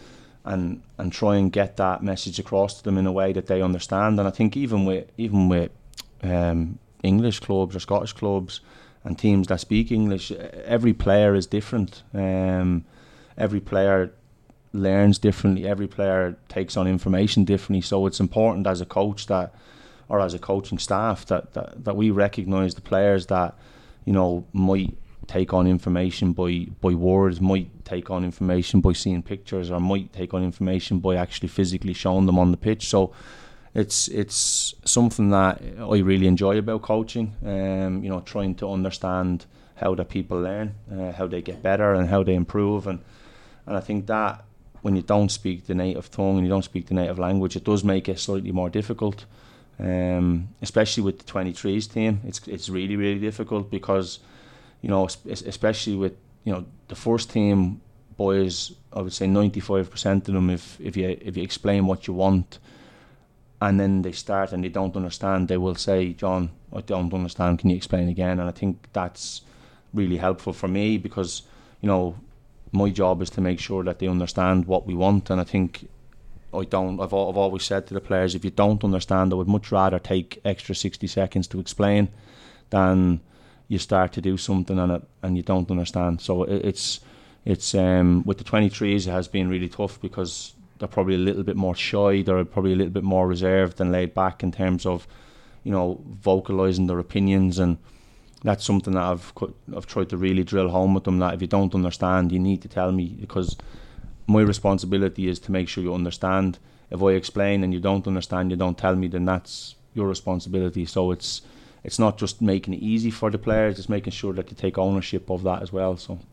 [SPEAKER 5] and and try and get that message across to them in a way that they understand. And I think even with even with um, English clubs or Scottish clubs and teams that speak English, every player is different. Um, every player learns differently. Every player takes on information differently. So it's important as a coach that, or as a coaching staff, that that, that we recognise the players that, you know, might take on information by by words, might take on information by seeing pictures, or might take on information by actually physically showing them on the pitch. So it's it's something that I really enjoy about coaching. Um, you know, trying to understand how the people learn, uh, how they get better, and how they improve. And and I think that when you don't speak the native tongue and you don't speak the native language, it does make it slightly more difficult. Um, especially with the twenty-threes team, it's it's really really difficult because, you know, especially with, you know, the first team boys, I would say ninety-five percent of them, if if you if you explain what you want, and then they start and they don't understand, they will say, John, I don't understand, can you explain again? And I think that's really helpful for me because, you know, my job is to make sure that they understand what we want. And I think I don't, I've, I've always said to the players, if you don't understand, I would much rather take extra sixty seconds to explain than you start to do something and it, and you don't understand. So it, it's it's um, with the twenty-threes, it has been really tough because they're probably a little bit more shy, they're probably a little bit more reserved and laid back in terms of, you know, vocalising their opinions. And that's something that I've I've tried to really drill home with them, that if you don't understand, you need to tell me, because my responsibility is to make sure you understand. If I explain and you don't understand, you don't tell me, then that's your responsibility. So it's it's not just making it easy for the players, it's making sure that you take ownership of that as well. So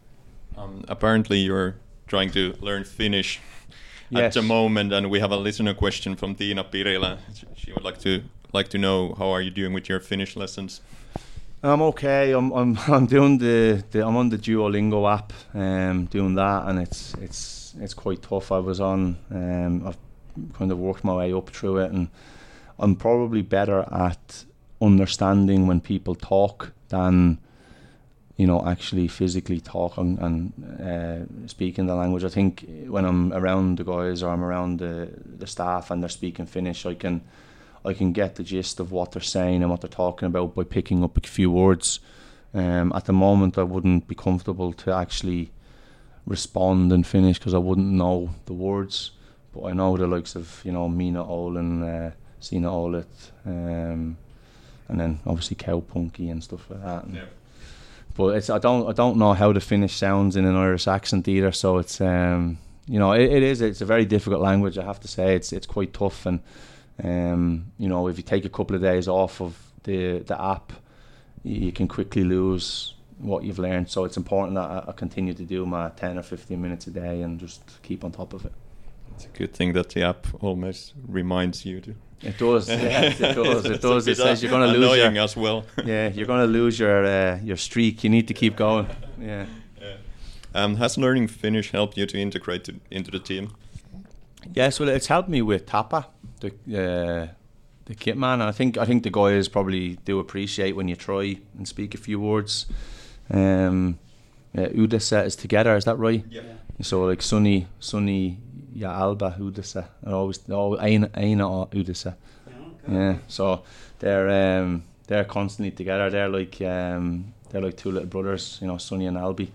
[SPEAKER 4] um, apparently you're trying to learn Finnish
[SPEAKER 5] yes.
[SPEAKER 4] at the moment, and we have a listener question from Tiina Pirilä. She would like to like to know, how are you doing with your Finnish lessons?
[SPEAKER 5] I'm okay. I'm I'm I'm doing the, the I'm on the Duolingo app, um, doing that, and it's it's it's quite tough. I was on, um, I've kind of worked my way up through it, and I'm probably better at understanding when people talk than, you know, actually physically talking and uh, speaking the language. I think when I'm around the guys or I'm around the the staff and they're speaking Finnish, I can. I can get the gist of what they're saying and what they're talking about by picking up a few words. Um, at the moment, I wouldn't be comfortable to actually respond in Finnish because I wouldn't know the words. But I know the likes of, you know, Mina Olin, uh, Sina Olet, um, and then obviously Cowpunky and stuff like that. And
[SPEAKER 4] yeah.
[SPEAKER 5] But it's I don't I don't know how the Finnish sounds in an Irish accent either. So it's um, you know it, it is it's a very difficult language. I have to say it's it's quite tough. And Um, you know, if you take a couple of days off of the the app, you can quickly lose what you've learned. So it's important that I, I continue to do my ten or fifteen minutes a day and just keep on top of it.
[SPEAKER 4] It's a good thing that the app almost reminds you to.
[SPEAKER 5] It does, yes, it does, it does. It
[SPEAKER 4] It's
[SPEAKER 5] says you're going to lose your,
[SPEAKER 4] as well.
[SPEAKER 5] yeah, you're going to lose your uh, your streak. You need to keep going. Yeah.
[SPEAKER 4] yeah. Um, has learning Finnish helped you to integrate to, into the team?
[SPEAKER 5] Yes, well, it's helped me with Tapa, the uh, the kit man. And I think I think the guys probably do appreciate when you try and speak a few words. Um, uh, Udessa is together, is that right?
[SPEAKER 4] Yeah.
[SPEAKER 5] So like Sunny, Sunny, ja Alba Udessa, and always always Aina Aina Udessa. Yeah. So they're um, they're constantly together. They're like um, they're like two little brothers, you know, Sunny and Albi.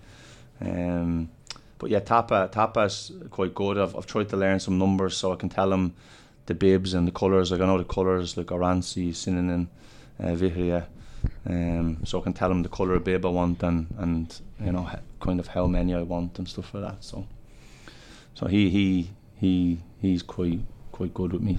[SPEAKER 5] Um, But yeah, Tapa Tapa's quite good. I've I've tried to learn some numbers so I can tell him the bibs and the colours. Like I know the colours, like Oransi, Sinanen, uh, Vihria. Um, so I can tell him the colour of bib I want and, and you know kind of how many I want and stuff like that. So so he he he he's quite quite good with me.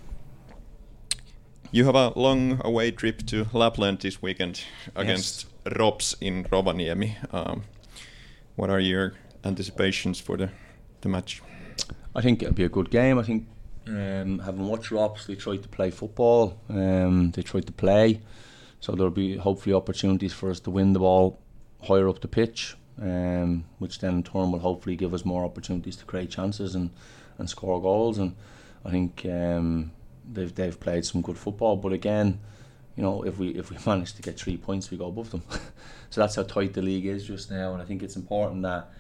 [SPEAKER 4] You have a long away trip to Lapland this weekend against
[SPEAKER 5] yes.
[SPEAKER 4] Rops in Rovaniemi. Um, what are your anticipations for the the match?
[SPEAKER 5] I think it'll be a good game. I think um, having watched Rops, they tried to play football. Um, they tried to play, so there'll be hopefully opportunities for us to win the ball higher up the pitch, um, which then in turn will hopefully give us more opportunities to create chances and, and score goals. And I think um, they've they've played some good football. But again, you know, if we if we manage to get three points, we go above them. So that's how tight the league is just now. And I think it's important that,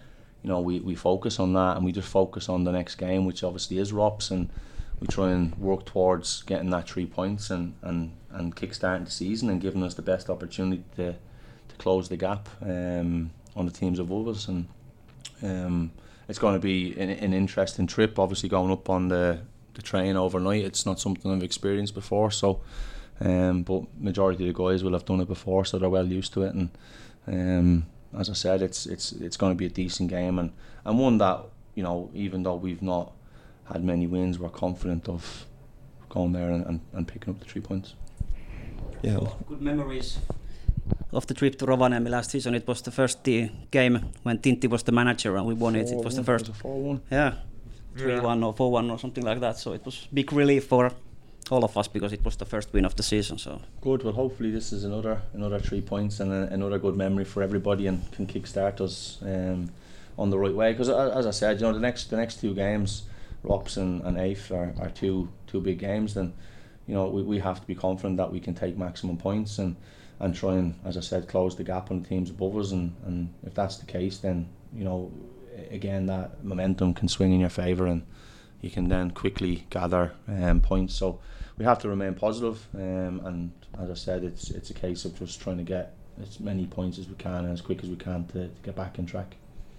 [SPEAKER 5] you know, we, we focus on that and we just focus on the next game, which obviously is Rops, and we try and work towards getting that three points and, and, and kick-starting the season and giving us the best opportunity to, to close the gap um, on the teams above us. And um, it's going to be an, an interesting trip, obviously going up on the, the train overnight. It's not something I've experienced before, so um, but majority of the guys will have done it before, so they're well used to it. And um, as I said, it's it's it's going to be a decent game, and, and one that, you know, even though we've not had many wins, we're confident of going there and, and, and picking up the three points.
[SPEAKER 4] Yeah.
[SPEAKER 6] Good memories of the trip to Rovaniemi last season. It was the first uh, game when Tintti was the manager and we won it. It was the first.
[SPEAKER 5] Was four one.
[SPEAKER 6] Yeah, three one or four one or something like that. So it was big relief for all of us because it was the first win of the season. So
[SPEAKER 5] good. Well, hopefully this is another another three points and a, another good memory for everybody and can kickstart us um, on the right way. Because as I said, you know, the next the next two games, Rops and, and A F are, are two two big games. Then, you know, we, we have to be confident that we can take maximum points and, and try and, as I said, close the gap on the teams above us. And, and if that's the case, then, you know, again, that momentum can swing in your favour and you can then quickly gather um, points. So we have to remain positive, um, and as I said, it's it's a case of just trying to get as many points as we can and as quick as we can to, to get back in track.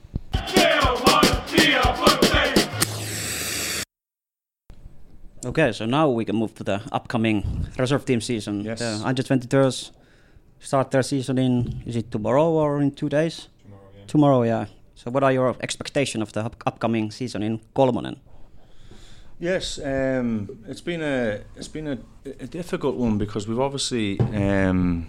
[SPEAKER 6] okay, so now we can move to the upcoming reserve team season.
[SPEAKER 5] Yes.
[SPEAKER 6] The under twenty-twos start their season in, is it tomorrow or in two days?
[SPEAKER 4] Tomorrow, yeah.
[SPEAKER 6] Tomorrow, yeah. So what are your expectations of the up- upcoming season in Kolmonen?
[SPEAKER 5] Yes, um, it's been a it's been a, a difficult one because we've obviously um,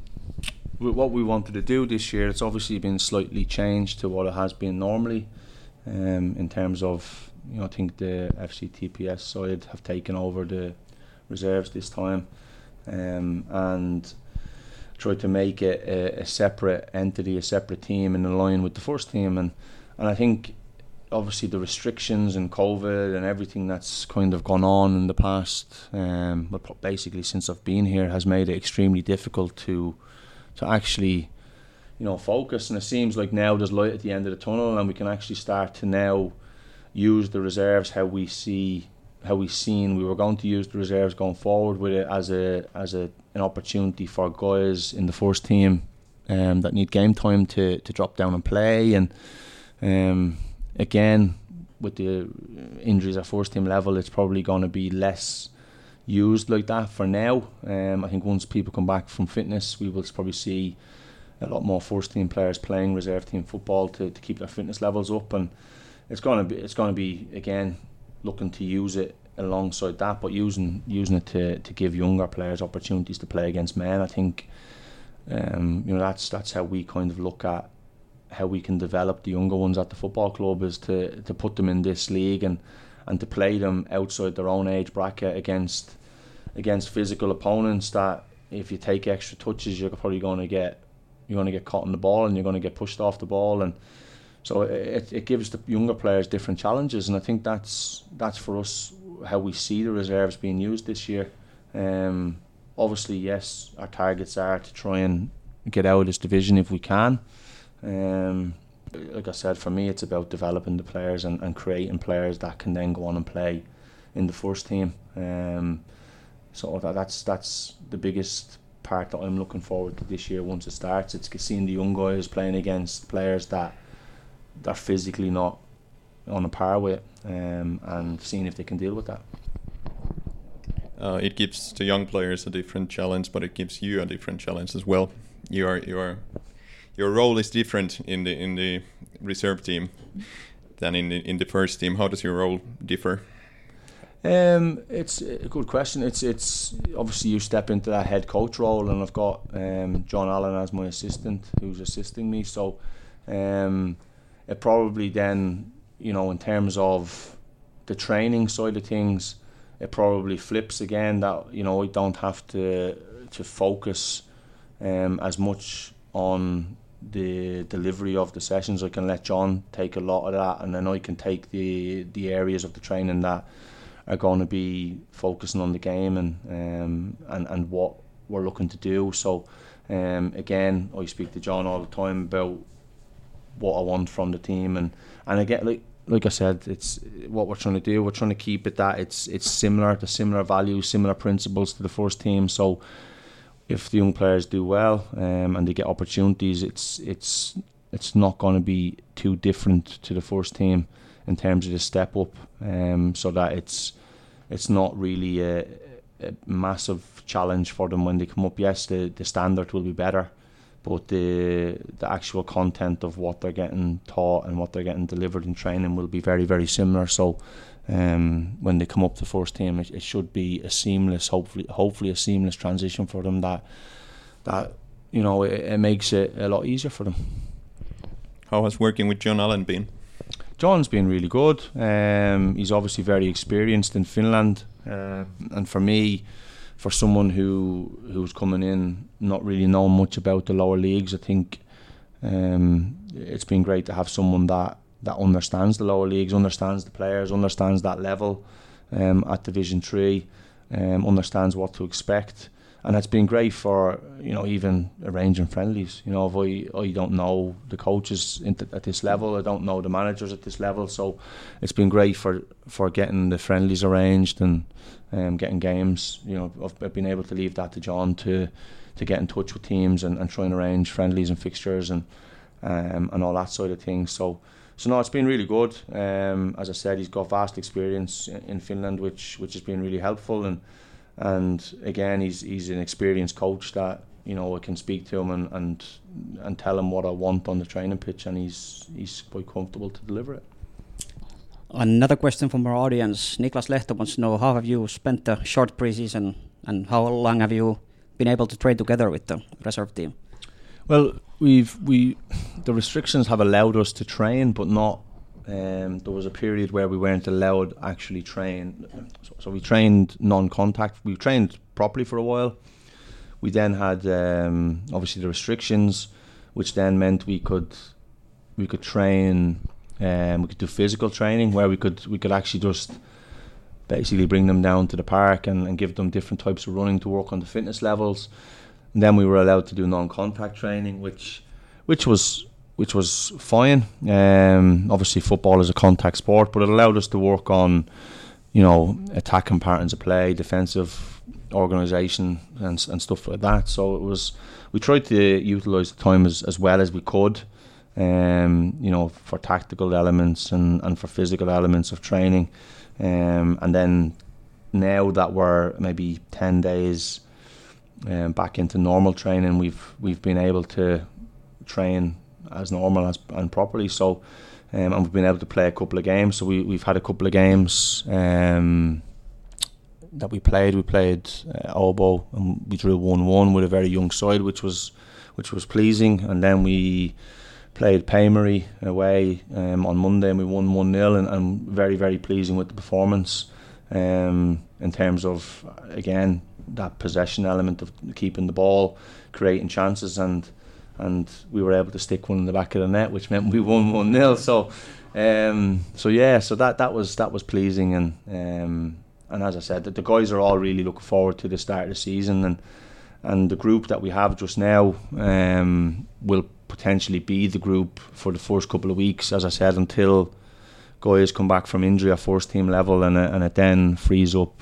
[SPEAKER 5] with what we wanted to do this year. It's obviously been slightly changed to what it has been normally, um, in terms of, you know, I think the F C T P S side have taken over the reserves this time, um, and tried to make it a, a separate entity, a separate team in line with the first team, and and I think, obviously the restrictions and COVID and everything that's kind of gone on in the past, um, but basically since I've been here, has made it extremely difficult to to actually, you know, focus. And it seems like now there's light at the end of the tunnel, and we can actually start to now use the reserves how we see how we seen we were going to use the reserves going forward, with it as a as a an opportunity for guys in the first team um, that need game time to to drop down and play. And um. Again, with the injuries at first team level, it's probably going to be less used like that for now. Um, I think once people come back from fitness, we will probably see a lot more first team players playing reserve team football to, to keep their fitness levels up, and it's going to be it's going to be again looking to use it alongside that, but using using it to, to give younger players opportunities to play against men. I think um, you know that's that's how we kind of look at how we can develop the younger ones at the football club, is to, to put them in this league and, and to play them outside their own age bracket against against physical opponents that if you take extra touches you're probably going to get you're going to get caught in the ball and you're going to get pushed off the ball. And so it, it gives the younger players different challenges, and I think that's that's for us how we see the reserves being used this year. Um, obviously, yes, our targets are to try and get out of this division if we can. Um, like I said, for me it's about developing the players and, and creating players that can then go on and play in the first team. Um, so that, that's that's the biggest part that I'm looking forward to this year once it starts. It's seeing the young guys playing against players that they're physically not on a par with, um, and seeing if they can deal with that.
[SPEAKER 4] Uh, it gives the young players a different challenge, but it gives you a different challenge as well. You are you are Your role is different in the in the reserve team than in the, in the first team. How does your role differ?
[SPEAKER 5] Um, it's a good question. It's it's obviously you step into that head coach role, and I've got um, John Allen as my assistant, who's assisting me. So um, it probably then, you know, in terms of the training side of things, it probably flips again. That, you know, I don't have to to focus um, as much on the delivery of the sessions. I can let John take a lot of that, and then I can take the the areas of the training that are going to be focusing on the game and um, and and what we're looking to do. So um, again, I speak to John all the time about what I want from the team, and and again, like like I said, it's what we're trying to do. We're trying to keep it that it's it's similar to similar values, similar principles to the first team. So if the young players do well um, and they get opportunities, it's it's it's not going to be too different to the first team in terms of the step up, um, so that it's it's not really a, a massive challenge for them when they come up. Yes, the, the standard will be better, but the the actual content of what they're getting taught and what they're getting delivered in training will be very, very similar. So um, when they come up to first team, it, it should be a seamless, hopefully, hopefully a seamless transition for them. That that you know it, it makes it a lot easier for them.
[SPEAKER 4] How has working with John Allen been?
[SPEAKER 5] John's been really good. Um, he's obviously very experienced in Finland, uh, and for me, for someone who who's coming in not really knowing much about the lower leagues, I think um, it's been great to have someone that, that understands the lower leagues, understands the players, understands that level um, at Division Three, um, understands what to expect. And it's been great for, you know, even arranging friendlies. You know, if I, I don't know the coaches at this level, I don't know the managers at this level, so it's been great for, for getting the friendlies arranged and um, getting games. You know, I've, I've been able to leave that to John to to get in touch with teams and, and try and arrange friendlies and fixtures and um, and all that side of things. So, so no, it's been really good. Um, as I said, he's got vast experience in, in Finland, which which has been really helpful. And. And again, he's he's an experienced coach that, you know, I can speak to him and, and and tell him what I want on the training pitch, and he's he's quite comfortable to deliver it.
[SPEAKER 6] Another question from our audience. Niklas Lehto wants to know, how have you spent the short preseason and how long have you been able to train together with the reserve team?
[SPEAKER 5] Well, we've we the restrictions have allowed us to train, but not. Um, there was a period where we weren't allowed to actually train, so, so we trained non-contact. We trained properly for a while. We then had um, obviously the restrictions, which then meant we could we could train. Um, we could do physical training where we could we could actually just basically bring them down to the park and, and give them different types of running to work on the fitness levels. And then we were allowed to do non-contact training, which which was. which was fine. Um, obviously, football is a contact sport, but it allowed us to work on, you know, attacking patterns of play, defensive organisation, and and stuff like that. So it was, we tried to utilise the time as, as well as we could, um, you know, for tactical elements and, and for physical elements of training. Um, and then now that we're maybe ten days um, back into normal training, we've we've been able to train as normal as and properly, so um, and we've been able to play a couple of games. So we we've had a couple of games um, that we played. We played uh, Obo and we drew one one with a very young side, which was which was pleasing. And then we played Paymery away um, on Monday and we won one nil, and, and very very pleasing with the performance um, in terms of, again, that possession element of keeping the ball, creating chances, and. And we were able to stick one in the back of the net, which meant we won one nil. So, um, so yeah, so that, that was that was pleasing, and um, and as I said, the, the guys are all really looking forward to the start of the season, and and the group that we have just now um, will potentially be the group for the first couple of weeks, as I said, until guys come back from injury at first team level, and and it then frees up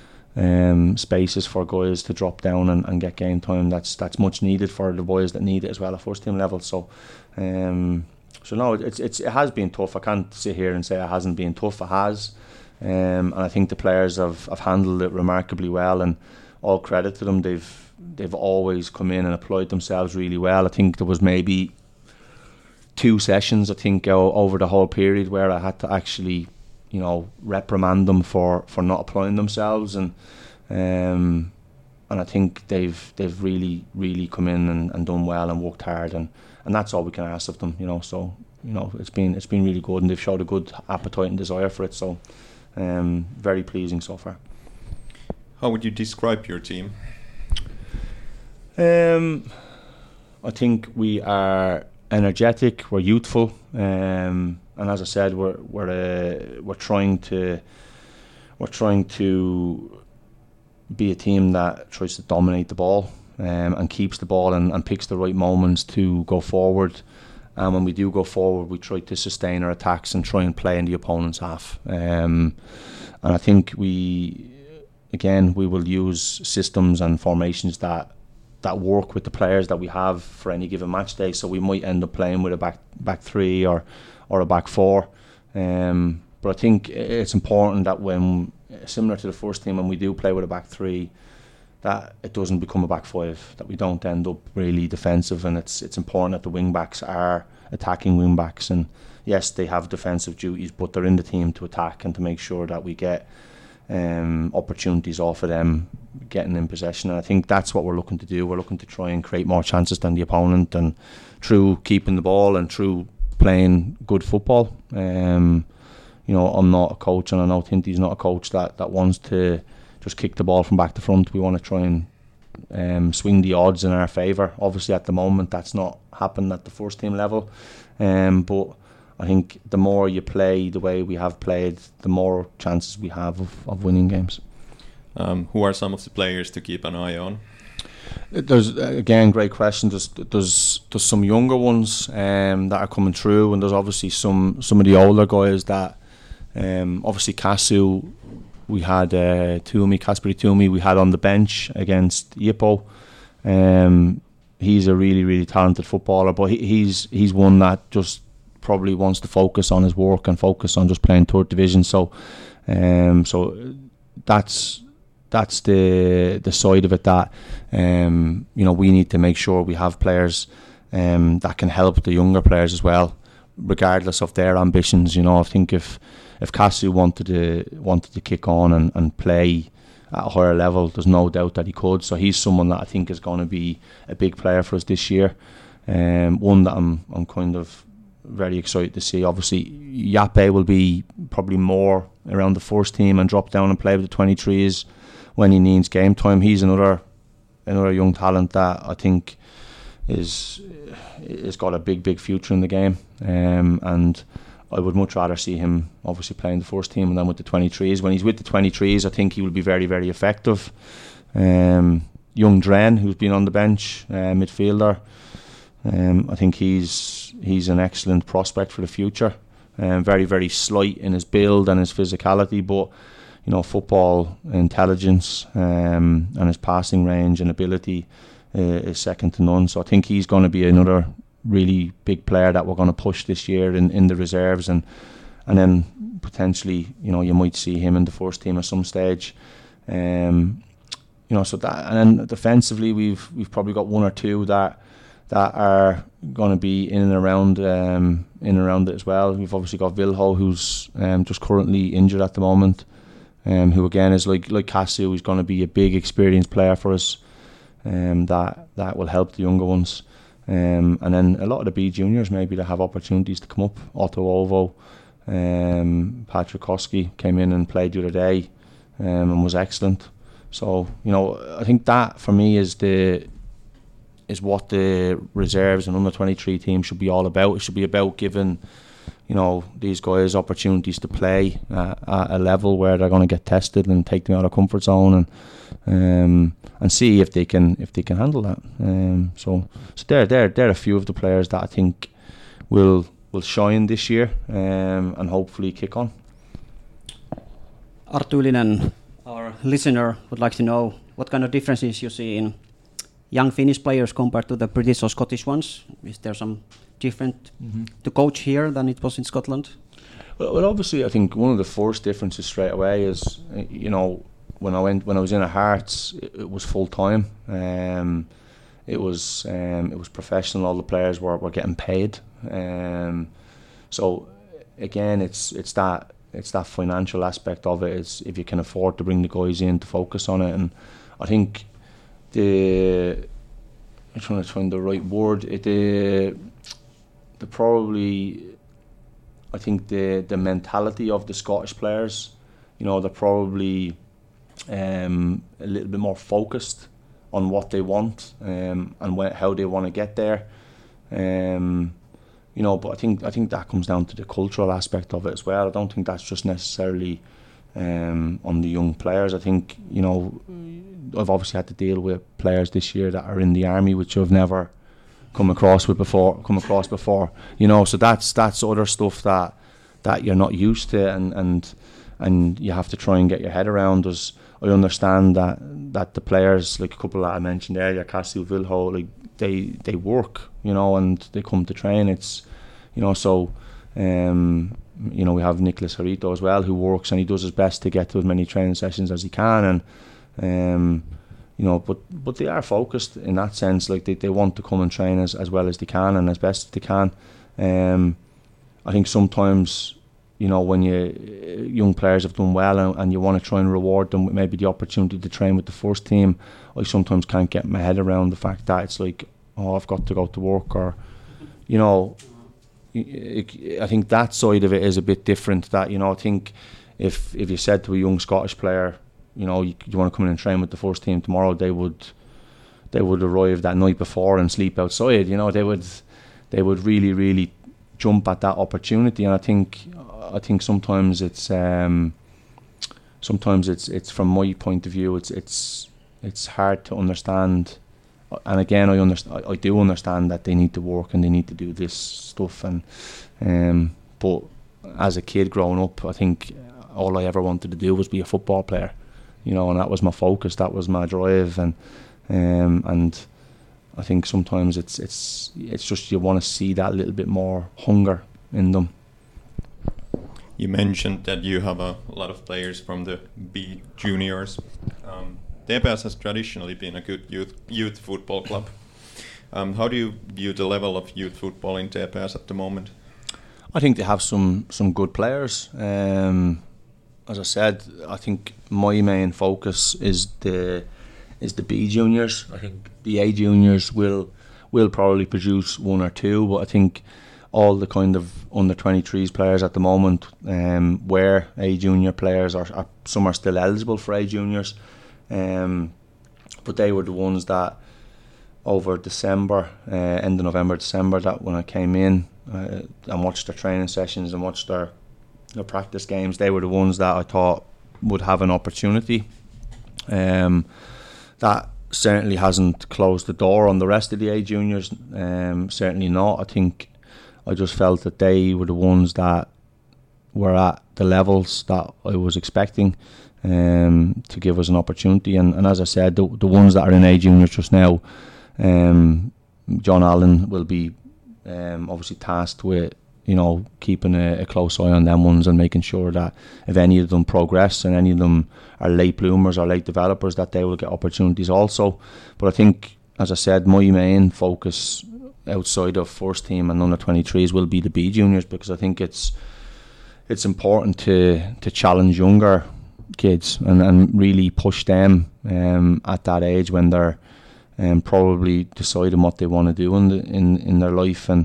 [SPEAKER 5] Um, spaces for guys to drop down and, and get game time. That's that's much needed for the boys that need it as well at first team level. So, um, so no, it's it's it has been tough. I can't sit here and say it hasn't been tough. It has, um, and I think the players have, have handled it remarkably well. And all credit to them. They've they've always come in and applied themselves really well. I think there was maybe two sessions I think over the whole period where I had to actually, you know, reprimand them for, for not applying themselves, and um, and I think they've they've really really come in and, and done well and worked hard, and, and that's all we can ask of them, you know. So, you know, it's been it's been really good, and they've showed a good appetite and desire for it. So, um, very pleasing so far.
[SPEAKER 4] How would you describe your team?
[SPEAKER 5] Um, I think we are energetic. We're youthful. Um, And as I said, we're we're uh, we're trying to we're trying to be a team that tries to dominate the ball um, and keeps the ball and, and picks the right moments to go forward and when we do go forward, we try to sustain our attacks and try and play in the opponent's half. Um, and I think we, again, we will use systems and formations that that work with the players that we have for any given match day. So we might end up playing with a back back three or or a back four. Um, but I think it's important that when, similar to the first team, when we do play with a back three, that it doesn't become a back five, that we don't end up really defensive. And it's it's important that the wing backs are attacking wing backs. And yes, they have defensive duties, but they're in the team to attack and to make sure that we get um, opportunities off of them getting in possession. And I think that's what we're looking to do. We're looking to try and create more chances than the opponent, and through keeping the ball and through playing good football. Um, you know, I'm not a coach, and I know Tinty's not a coach that, that wants to just kick the ball from back to front. We want to try and um, swing the odds in our favour. Obviously at the moment that's not happened at the first team level, um, but I think the more you play the way we have played, the more chances we have of, of winning games.
[SPEAKER 4] Um, who are some of the players to keep an eye on?
[SPEAKER 5] There's, again, great question. There's there's, there's some younger ones um, that are coming through, and there's obviously some, some of the older guys that um, obviously Kasu, we had uh, Toomey, Kasperi Toomey, we had on the bench against Jippo. Um, he's a really, really talented footballer, but he, he's he's one that just probably wants to focus on his work and focus on just playing third division. So, um, so that's that's the the side of it that um, you know, we need to make sure we have players um, that can help the younger players as well, regardless of their ambitions. You know, I think if if Kasu wanted to wanted to kick on and, and play at a higher level, there's no doubt that he could. So he's someone that I think is going to be a big player for us this year. Um, one that I'm I'm kind of very excited to see. Obviously, Yape will be probably more around the first team and drop down and play with the twenty-threes when he needs game time. He's another another young talent that I think is is got a big big future in the game, um, and I would much rather see him obviously playing the first team and then with the twenty-threes. When he's with the twenty-threes, I think he will be very very effective. Um, young Dren, who's been on the bench, uh, midfielder, um, I think he's he's an excellent prospect for the future. Um, very very slight in his build and his physicality, but you know, football intelligence um, and his passing range and ability uh, is second to none. So I think he's going to be another really big player that we're going to push this year in, in the reserves, and and then potentially, you know, you might see him in the first team at some stage. Um, you know, so that, and then defensively, we've we've probably got one or two that that are going to be in and around um, in and around it as well. We've obviously got Vilho, who's um, just currently injured at the moment. Um, who again is like like Kasu, who's going to be a big experienced player for us, um, that that will help the younger ones, um, and then a lot of the B juniors maybe that have opportunities to come up. Otto Ovo, um, Patrick Koski came in and played the other day, um, and was excellent. So you know, I think that for me is the is what the reserves and under twenty-three team should be all about. It should be about giving, you know, these guys opportunities to play uh, at a level where they're going to get tested and take them out of comfort zone, and um, and see if they can if they can handle that. Um, so so they're they're they're a few of the players that I think will will shine this year, um, and hopefully kick on.
[SPEAKER 6] Arttu Ylinen, our listener, would like to know what kind of differences you see in young Finnish players compared to the British or Scottish ones. Is there some different mm-hmm. to coach here than it was in Scotland?
[SPEAKER 5] Well, well, obviously, I think one of the first differences straight away is, you know, when I went when I was in a Hearts, it, it was full time. Um, it was um, it was professional. All the players were, were getting paid. Um, so again, it's it's that it's that financial aspect of it. It's if you can afford to bring the guys in to focus on it, and I think the I'm trying to find the right word. It the the probably I think the the mentality of the Scottish players, you know, they're probably um, a little bit more focused on what they want um, and wh- how they want to get there. Um, you know, but I think I think that comes down to the cultural aspect of it as well. I don't think that's just necessarily um, on the young players. I think, you know, I've obviously had to deal with players this year that are in the army, which I've never come across with before, come across before, you know. So that's that's other stuff that that you're not used to, and and and you have to try and get your head around. As I understand that that the players, like a couple that I mentioned earlier, Cassie Vilho, like they they work, you know, and they come to train. It's, you know, so um, you know, we have Nicholas Harito as well, who works and he does his best to get to as many training sessions as he can, and um, you know, but but they are focused in that sense. Like they, they want to come and train as, as well as they can and as best as they can. Um, I think sometimes, you know, when you young players have done well and, and you want to try and reward them with maybe the opportunity to train with the first team, I sometimes can't get my head around the fact that it's like, oh, I've got to go to work, or, you know, I think that side of it is a bit different. That, you know, I think if if you said to a young Scottish player, you know, you, you want to come in and train with the first team tomorrow, they would they would arrive that night before and sleep outside. You know, they would they would really really jump at that opportunity. And I think I think sometimes it's um, sometimes it's it's from my point of view, it's it's it's hard to understand. And again, I understand. I do understand that they need to work and they need to do this stuff. And um, but as a kid growing up, I think all I ever wanted to do was be a football player, you know, and that was my focus. That was my drive. And um, and I think sometimes it's it's it's just you want to see that little bit more hunger in them.
[SPEAKER 4] You mentioned that you have a lot of players from the B juniors. Um, T P S has traditionally been a good youth youth football club. Um, how do you view the level of youth football in T P S at the moment?
[SPEAKER 5] I think they have some some good players. Um, as I said, I think my main focus is the is the B juniors. I think the A juniors will will probably produce one or two, but I think all the kind of under twenty-threes players at the moment um, were A junior players, or, or some are still eligible for A juniors. Um, but they were the ones that over December, uh, end of November, December, that when I came in uh, and watched their training sessions and watched their, their practice games, they were the ones that I thought would have an opportunity. Um, that certainly hasn't closed the door on the rest of the A juniors, um, certainly not. I think I just felt that they were the ones that were at the levels that I was expecting. Um, to give us an opportunity, and, and as I said, the, the ones that are in A juniors just now, um, John Allen will be um, obviously tasked with, you know, keeping a, a close eye on them ones and making sure that if any of them progress and any of them are late bloomers or late developers, that they will get opportunities also. But I think, as I said, my main focus outside of first team and under twenty-threes will be the B juniors, because I think it's it's important to to challenge younger kids and, and really push them um, at that age when they're um, probably deciding what they want to do in, the, in in their life. And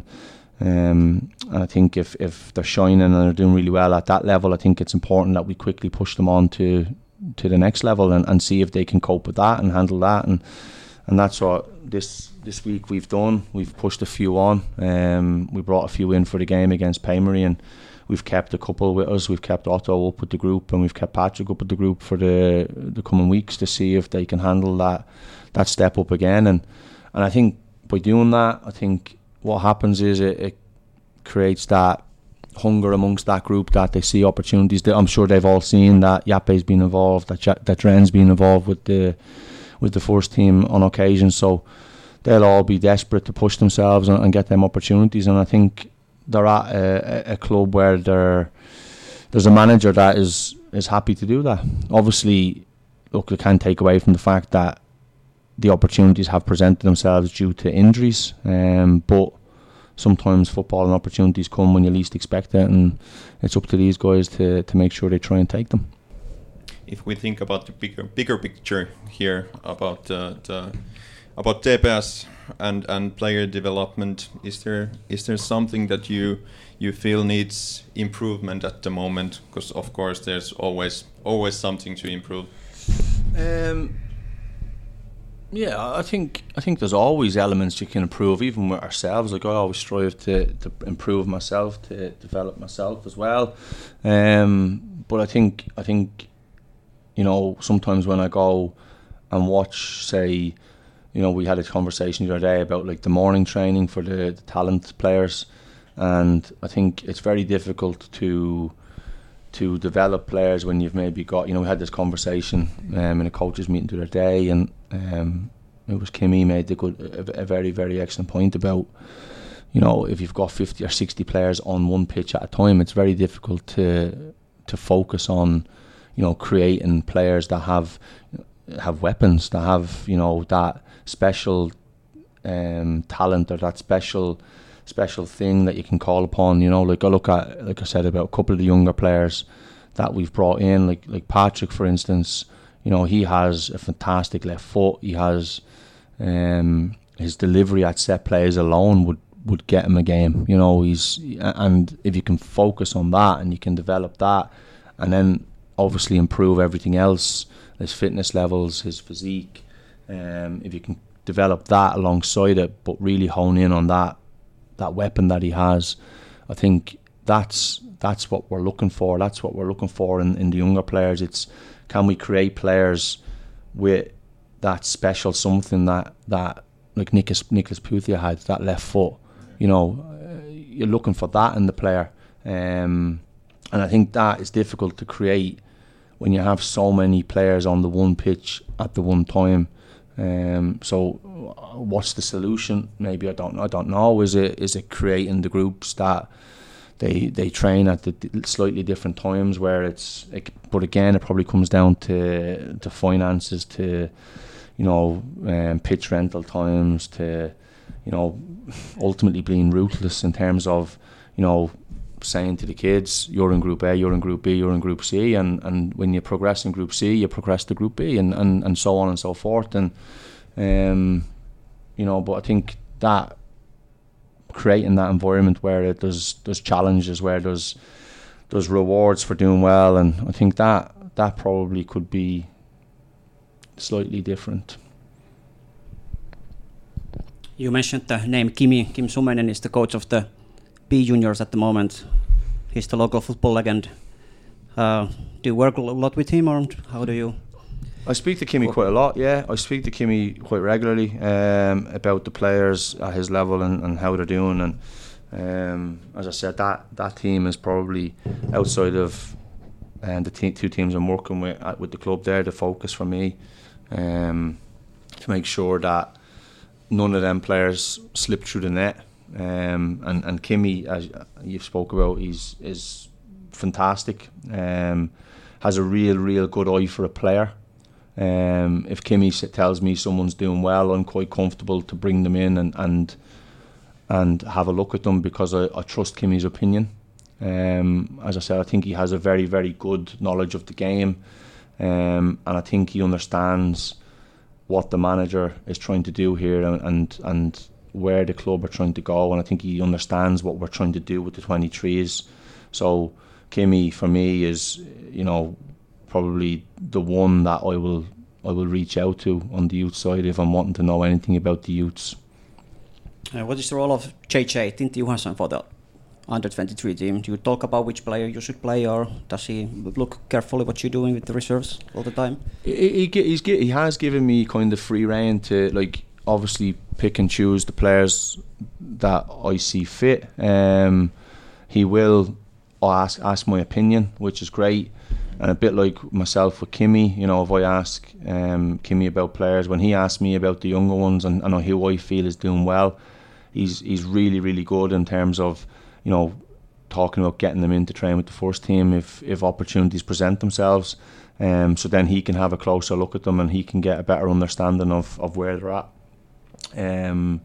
[SPEAKER 5] um, I think if, if they're shining and they're doing really well at that level, I think it's important that we quickly push them on to to the next level and, and see if they can cope with that and handle that. And and that's what this this week we've done. We've pushed a few on. Um, we brought a few in for the game against Paymery, and we've kept a couple with us. We've kept Otto up with the group, and we've kept Patrick up with the group for the the coming weeks to see if they can handle that that step up again. And and I think by doing that, I think what happens is it, it creates that hunger amongst that group, that they see opportunities. That I'm sure they've all seen that Yape's been involved, that ja- that Dren's been involved with the with the first team on occasion. So they'll all be desperate to push themselves and, and get them opportunities. And I think they're at a, a club where there there's a manager that is is happy to do that. Obviously, look, we can't take away from the fact that the opportunities have presented themselves due to injuries, um, but sometimes football and opportunities come when you least expect it, and it's up to these guys to, to make sure they try and take them.
[SPEAKER 4] If we think about the bigger bigger picture here about uh, the about T P S and and player development, is there is there something that you you feel needs improvement at the moment? Because of course there's always always something to improve.
[SPEAKER 5] Um, yeah, I think I think there's always elements you can improve, even with ourselves. Like I always strive to, to improve myself, to develop myself as well. Um, but I think I think you know sometimes when I go and watch, say, you know, we had a conversation the other day about like the morning training for the, the talent players, and I think it's very difficult to to develop players when you've maybe got, you know, we had this conversation um, in a coaches meeting the other day, and um, it was Kimmy made the good, a, a very, very excellent point about, you know, if you've got fifty or sixty players on one pitch at a time, it's very difficult to to focus on, you know, creating players that have have weapons, that have, you know, that special um, talent or that special special thing that you can call upon. You know, like I look at, like I said, about a couple of the younger players that we've brought in, like like Patrick, for instance. You know, he has a fantastic left foot. He has um, his delivery at set plays alone would, would get him a game. You know, he's and if you can focus on that and you can develop that, and then obviously improve everything else, his fitness levels, his physique. Um, if you can develop that alongside it, but really hone in on that that weapon that he has, I think that's that's what we're looking for. That's what we're looking for in, in the younger players. It's, can we create players with that special something that that like Nicholas Nicholas Puthia had, that left foot. You know, uh, you're looking for that in the player, um, and I think that is difficult to create when you have so many players on the one pitch at the one time. Um, so, what's the solution? Maybe I don't. I don't know. Is it is it creating the groups that they they train at the slightly different times where it's? It, but again, it probably comes down to to finances, to you know, um, pitch rental times, to you know, ultimately being ruthless in terms of, you know, saying to the kids, you're in Group A, you're in Group B, you're in Group C, and, and when you progress in Group C, you progress to Group B, and, and, and so on and so forth. And um, you know, but I think that creating that environment where it there's there's challenges, where there's there's rewards for doing well, and I think that that probably could be slightly different.
[SPEAKER 6] You mentioned the name Kimi. Kim Sumenen is the coach of the B juniors at the moment. He's the local football legend. Uh, do you work a lot with him, or how do you?
[SPEAKER 5] I speak to Kimi quite a lot, yeah. I speak to Kimi quite regularly um, about the players at his level and, and how they're doing. And um, as I said, that, that team is probably outside of um, the te- two teams I'm working with at, with the club there, the focus for me, um, to make sure that none of them players slip through the net. Um, and, and Kimi, as you've spoke about, he's is fantastic. Um, has a real, real good eye for a player. Um, if Kimi tells me someone's doing well, I'm quite comfortable to bring them in and and, and have a look at them, because I, I trust Kimi's opinion. Um, as I said, I think he has a very, very good knowledge of the game, um, and I think he understands what the manager is trying to do here, and, and and where the club are trying to go, and I think he understands what we're trying to do with the twenty-threes. So Kimi, for me, is, you know, probably the one that I will I will reach out to on the youth side if I'm wanting to know anything about the youths.
[SPEAKER 6] Uh, what is the role of J J, Tintti Johansson, for the under twenty-three team? Do you talk about which player you should play, or does he look carefully what you're doing with the reserves all the time?
[SPEAKER 5] He, he, he's, he has given me kind of free rein to, like, obviously pick and choose the players that I see fit. Um, he will ask ask my opinion, which is great. And a bit like myself with Kimi, you know, if I ask um, Kimi about players, when he asks me about the younger ones and, and who I feel is doing well, he's he's really, really good in terms of, you know, talking about getting them in to train with the first team if, if opportunities present themselves. Um, so then he can have a closer look at them and he can get a better understanding of, of where they're at. Um,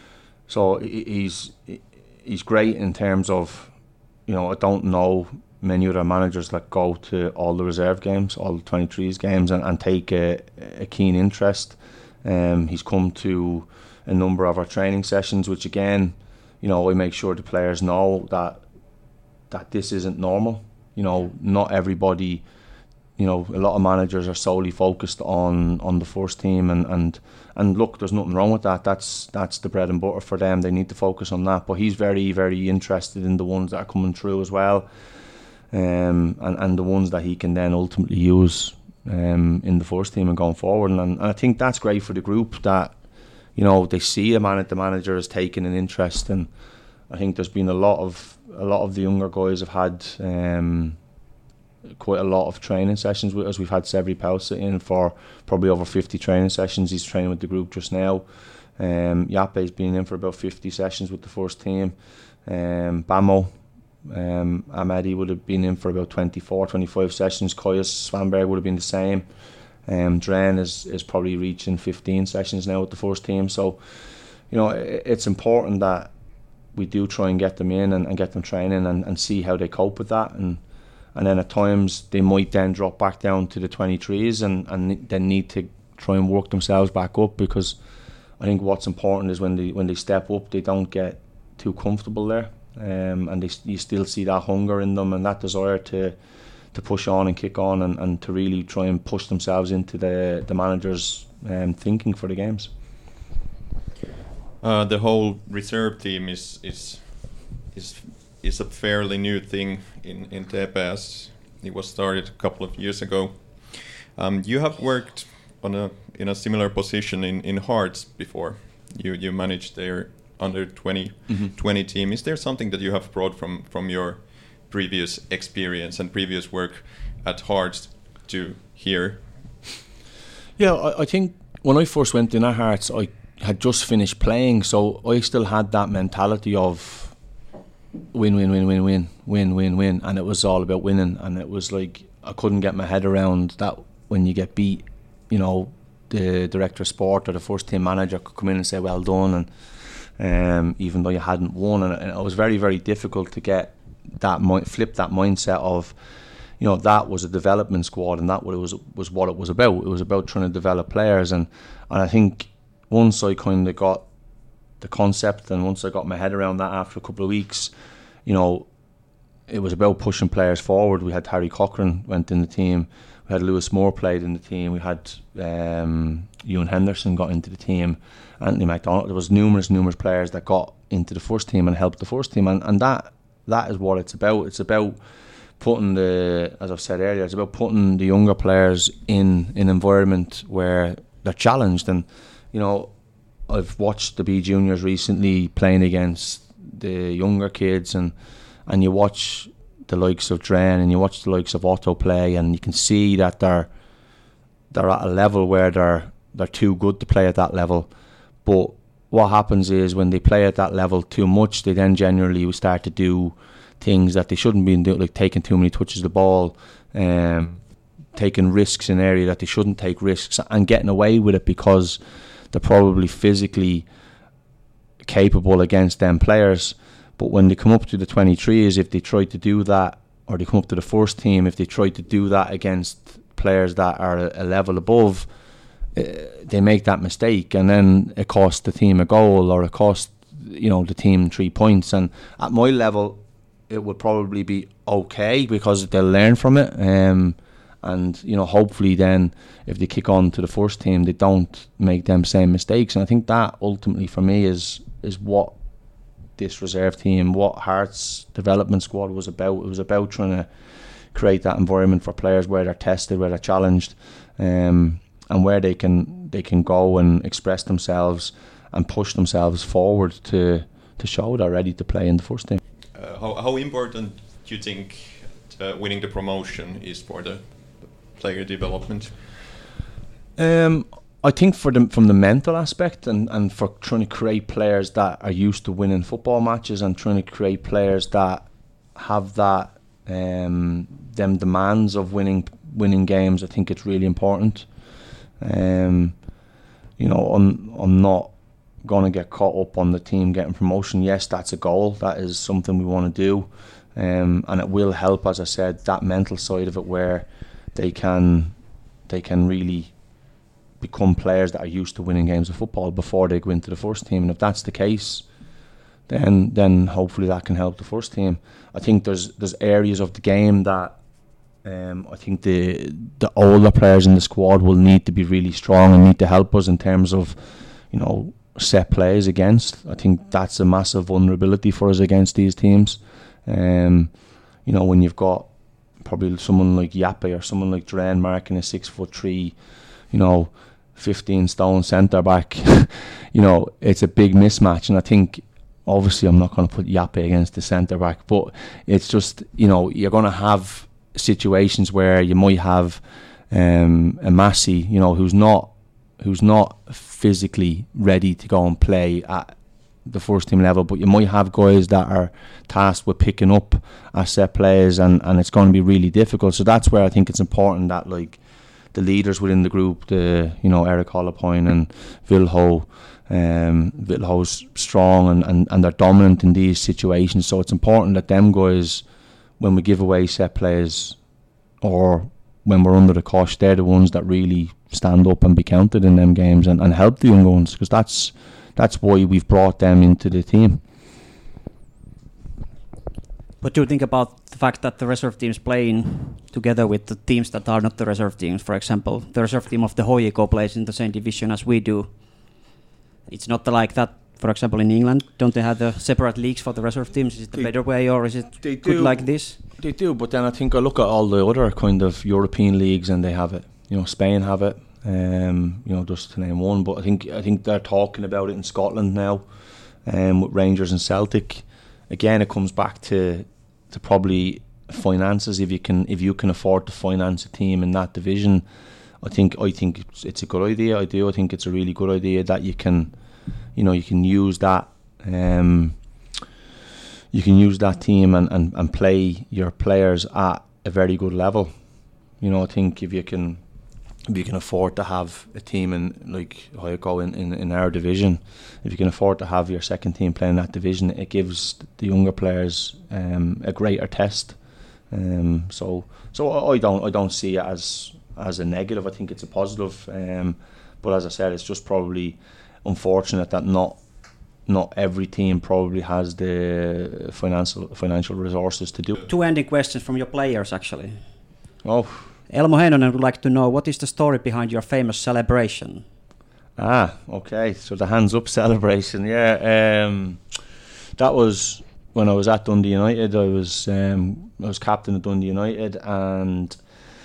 [SPEAKER 5] so he's he's great in terms of, you know, I don't know many other managers that go to all the reserve games, all the twenty-threes games, and, and take a, a keen interest. Um, he's come to a number of our training sessions, which again, you know, I make sure the players know that that this isn't normal. You know, not everybody, you know, a lot of managers are solely focused on, on the first team, and, and and look, there's nothing wrong with that. That's that's the bread and butter for them. They need to focus on that. But he's very, very interested in the ones that are coming through as well. Um, and, and the ones that he can then ultimately use um, in the first team and going forward. And, and I think that's great for the group, that, you know, they see a man the manager is taking an interest, and I think there's been a lot of a lot of the younger guys have had um, quite a lot of training sessions with us. We've had Severi Pausa in for probably over fifty training sessions. He's training with the group just now. Um, Jape's been in for about fifty sessions with the first team. Um, Bamo, um, Amadi would have been in for about twenty-four, twenty-five sessions. Koyas Svanberg would have been the same. Um, Dren is, is probably reaching fifteen sessions now with the first team. So, you know, it, it's important that we do try and get them in and, and get them training and, and see how they cope with that. And and then at times they might then drop back down to the twenty-threes and, and then need to try and work themselves back up, because I think what's important is when they when they step up, they don't get too comfortable there, um, and they, you still see that hunger in them and that desire to to push on and kick on and, and to really try and push themselves into the the manager's um, thinking for the games.
[SPEAKER 4] Uh, the whole reserve team is is is is a fairly new thing in in T P S. It was started a couple of years ago. Um, you have worked on a in a similar position in, in Hearts before. You you managed their under twenty, mm-hmm. twenty team. Is there something that you have brought from, from your previous experience and previous work at Hearts to here?
[SPEAKER 5] Yeah, I, I think when I first went in at Hearts, I had just finished playing, so I still had that mentality of win, win, win, win, win, win, win, win, and it was all about winning. And it was like I couldn't get my head around that when you get beat, you know, the director of sport or the first team manager could come in and say well done, and um, even though you hadn't won, and, and it was very, very difficult to get that mi- flip that mindset of, you know, that was a development squad and that what it was was what it was about. It was about trying to develop players, and and I think once I kind of got the concept and once I got my head around that after a couple of weeks, you know, it was about pushing players forward. We had Harry Cochran went in the team. We had Lewis Moore played in the team. We had um, Ewan Henderson got into the team. Anthony McDonald. There was numerous, numerous players that got into the first team and helped the first team. And, and that that is what it's about. It's about putting the, as I've said earlier, it's about putting the younger players in an environment where they're challenged. And, you know, I've watched the B Juniors recently playing against the younger kids, and and you watch the likes of Dren and you watch the likes of Otto play, and you can see that they're they're at a level where they're they're too good to play at that level. But what happens is when they play at that level too much, they then generally start to do things that they shouldn't be doing, like taking too many touches of the ball, um, taking risks in an area that they shouldn't take risks, and getting away with it because they're probably physically capable against them players. But when they come up to the twenty-threes, if they try to do that, or they come up to the first team, if they try to do that against players that are a, a level above, uh, they make that mistake, and then it costs the team a goal, or it costs, you know, the team three points. And at my level, it would probably be okay because they'll learn from it. Um, and, you know, hopefully then if they kick on to the first team, they don't make them same mistakes. And I think that ultimately for me is is what this reserve team, what Hearts development squad was about. It was about trying to create that environment for players where they're tested, where they're challenged, um, and where they can they can go and express themselves and push themselves forward to to show they're ready to play in the first team.
[SPEAKER 4] Uh, how, how important do you think uh, winning the promotion is for the player development?
[SPEAKER 5] Um, I think for the, from the mental aspect, and, and for trying to create players that are used to winning football matches, and trying to create players that have that um, them demands of winning winning games, I think it's really important. Um, you know, I'm I'm not going to get caught up on the team getting promotion. Yes, that's a goal. That is something we want to do, um, and it will help, as I said, that mental side of it, where they can they can really become players that are used to winning games of football before they go into the first team. And if that's the case, then then hopefully that can help the first team. I think there's there's areas of the game that um, I think the the older players in the squad will need to be really strong and need to help us in terms of, you know, set plays against. I think that's a massive vulnerability for us against these teams. Um, you know, when you've got probably someone like Yappe or someone like Dren marking a six foot three, you know, fifteen stone centre back, you know, it's a big mismatch. And I think, obviously, I'm not going to put Yappe against the centre back, but it's just, you know, you're going to have situations where you might have um, a Massey, you know, who's not who's not physically ready to go and play at the first team level, but you might have guys that are tasked with picking up our set plays, and, and it's going to be really difficult. So that's where I think it's important that, like, the leaders within the group, the you know Eric Holopoint and Vilho, um, Vilho's strong and, and, and they're dominant in these situations. So it's important that them guys, when we give away set plays or when we're under the cosh, they're the ones that really stand up and be counted in them games and, and help the young ones, because that's that's why we've brought them into the team.
[SPEAKER 6] What do you think about the fact that the reserve teams playing together with the teams that are not the reserve teams? For example, the reserve team of the H J K plays in the same division as we do. It's not like that, for example, in England. Don't they have the separate leagues for the reserve teams? Is it the
[SPEAKER 5] They-
[SPEAKER 6] better way, or is it
[SPEAKER 5] they
[SPEAKER 6] good
[SPEAKER 5] do.
[SPEAKER 6] like this?
[SPEAKER 5] They do, but then I think I look at all the other kind of European leagues and they have it. You know, Spain have it. Um, you know, just to name one. But I think I think they're talking about it in Scotland now, um, with Rangers and Celtic. Again, it comes back to to probably finances. If you can if you can afford to finance a team in that division, I think I think it's, it's a good idea. I do. I think it's a really good idea that you can, you know, you can use that. Um, you can use that team and, and, and play your players at a very good level. You know, I think if you can, if you can afford to have a team in like H J K in, in, in our division, if you can afford to have your second team playing that division, it gives the younger players um, a greater test. Um, so so I don't I don't see it as as a negative. I think it's a positive. Um, but as I said, it's just probably unfortunate that not. Not every team probably has the financial financial resources to do it.
[SPEAKER 6] Two ending questions from your players, actually.
[SPEAKER 5] Oh,
[SPEAKER 6] Elmo Heinonen would like to know, what is the story behind your famous celebration?
[SPEAKER 5] ah, okay. So the hands up celebration, yeah. Um, that was when I was at Dundee United. I was um, I was captain of Dundee United, and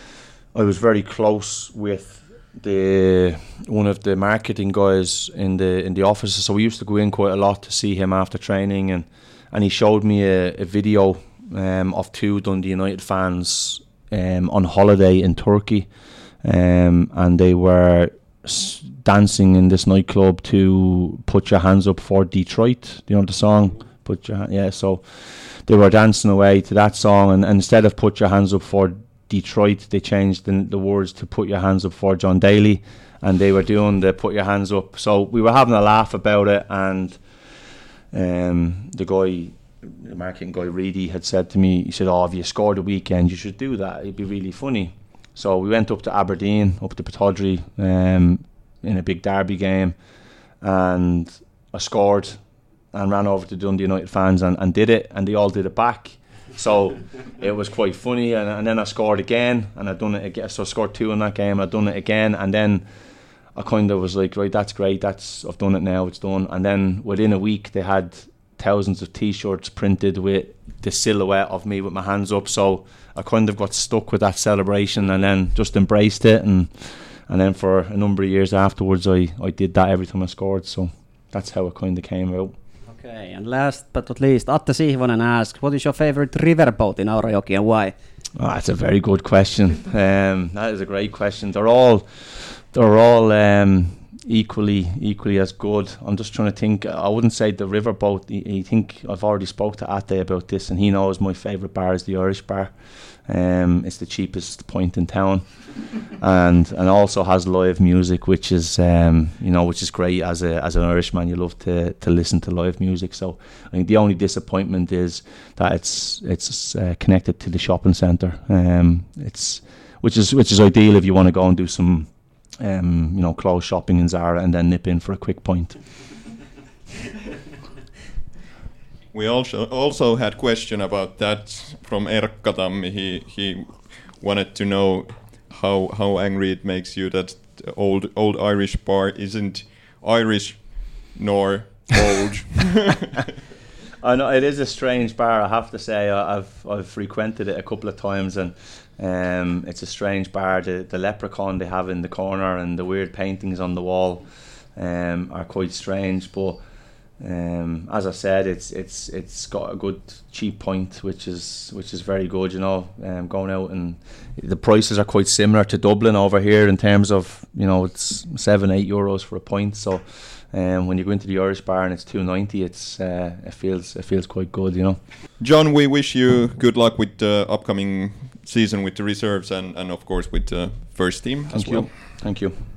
[SPEAKER 5] I was very close with the one of the marketing guys in the in the office. So we used to go in quite a lot to see him after training, and and he showed me a, a video um, of two Dundee United fans um, on holiday in Turkey, um, and they were s- dancing in this nightclub to Put Your Hands Up for Detroit. Do you know the song? Put your yeah. So they were dancing away to that song, and, and instead of Put Your Hands Up for Detroit, they changed the, the words to Put Your Hands Up for John Daly, and they were doing the Put Your Hands Up. So we were having a laugh about it, and um, the guy, the marketing guy Reedy, had said to me, he said, oh, if you scored a weekend, you should do that, it'd be really funny. So we went up to Aberdeen, up to Pittodrie, um, in a big derby game, and I scored and ran over to Dundee United fans and, and did it, and they all did it back. So it was quite funny, and, and then I scored again, and I'd done it again. So I scored two in that game, I'd done it again, and then I kind of was like, right, that's great, that's I've done it now, it's done. And then within a week, they had thousands of T-shirts printed with the silhouette of me with my hands up. So I kind of got stuck with that celebration, and then just embraced it, and and then for a number of years afterwards, I, I did that every time I scored. So that's how it kind of came out.
[SPEAKER 6] Okay, and last but not least, Atte Sihvonen asks, what is your favorite riverboat in Aurajoki and why?
[SPEAKER 5] Oh, that's a very good question. Um, that is a great question. They're all, they're all um, equally, equally as good. I'm just trying to think. I wouldn't say the riverboat. I think I've already spoke to Atte about this, and he knows my favourite bar is the Irish Bar. Um, it's the cheapest point in town, and and also has live music, which is um, you know which is great. As a as an Irishman, you love to to listen to live music. So I think the only disappointment is that it's it's uh, connected to the shopping centre. Um, it's which is which is ideal if you want to go and do some um, you know clothes shopping in Zara and then nip in for a quick pint.
[SPEAKER 4] We also also had question about that from Erkka Tammi. He he wanted to know how how angry it makes you that the old old Irish bar isn't Irish nor old.
[SPEAKER 5] I know it is a strange bar. I have to say, I- I've I've frequented it a couple of times, and Um, it's a strange bar. The, the leprechaun they have in the corner and the weird paintings on the wall um, are quite strange. But um, as I said, it's it's it's got a good cheap point, which is which is very good. You know, um, going out, and the prices are quite similar to Dublin over here in terms of, you know, it's seven eight euros for a pint. So. Um, when you go into the Irish bar and it's two ninety, it's uh, it feels it feels quite good, you know.
[SPEAKER 4] John, we wish you good luck with the upcoming season with the reserves and, and of course with the first team
[SPEAKER 5] Thank
[SPEAKER 4] as
[SPEAKER 5] you.
[SPEAKER 4] well.
[SPEAKER 5] Thank you.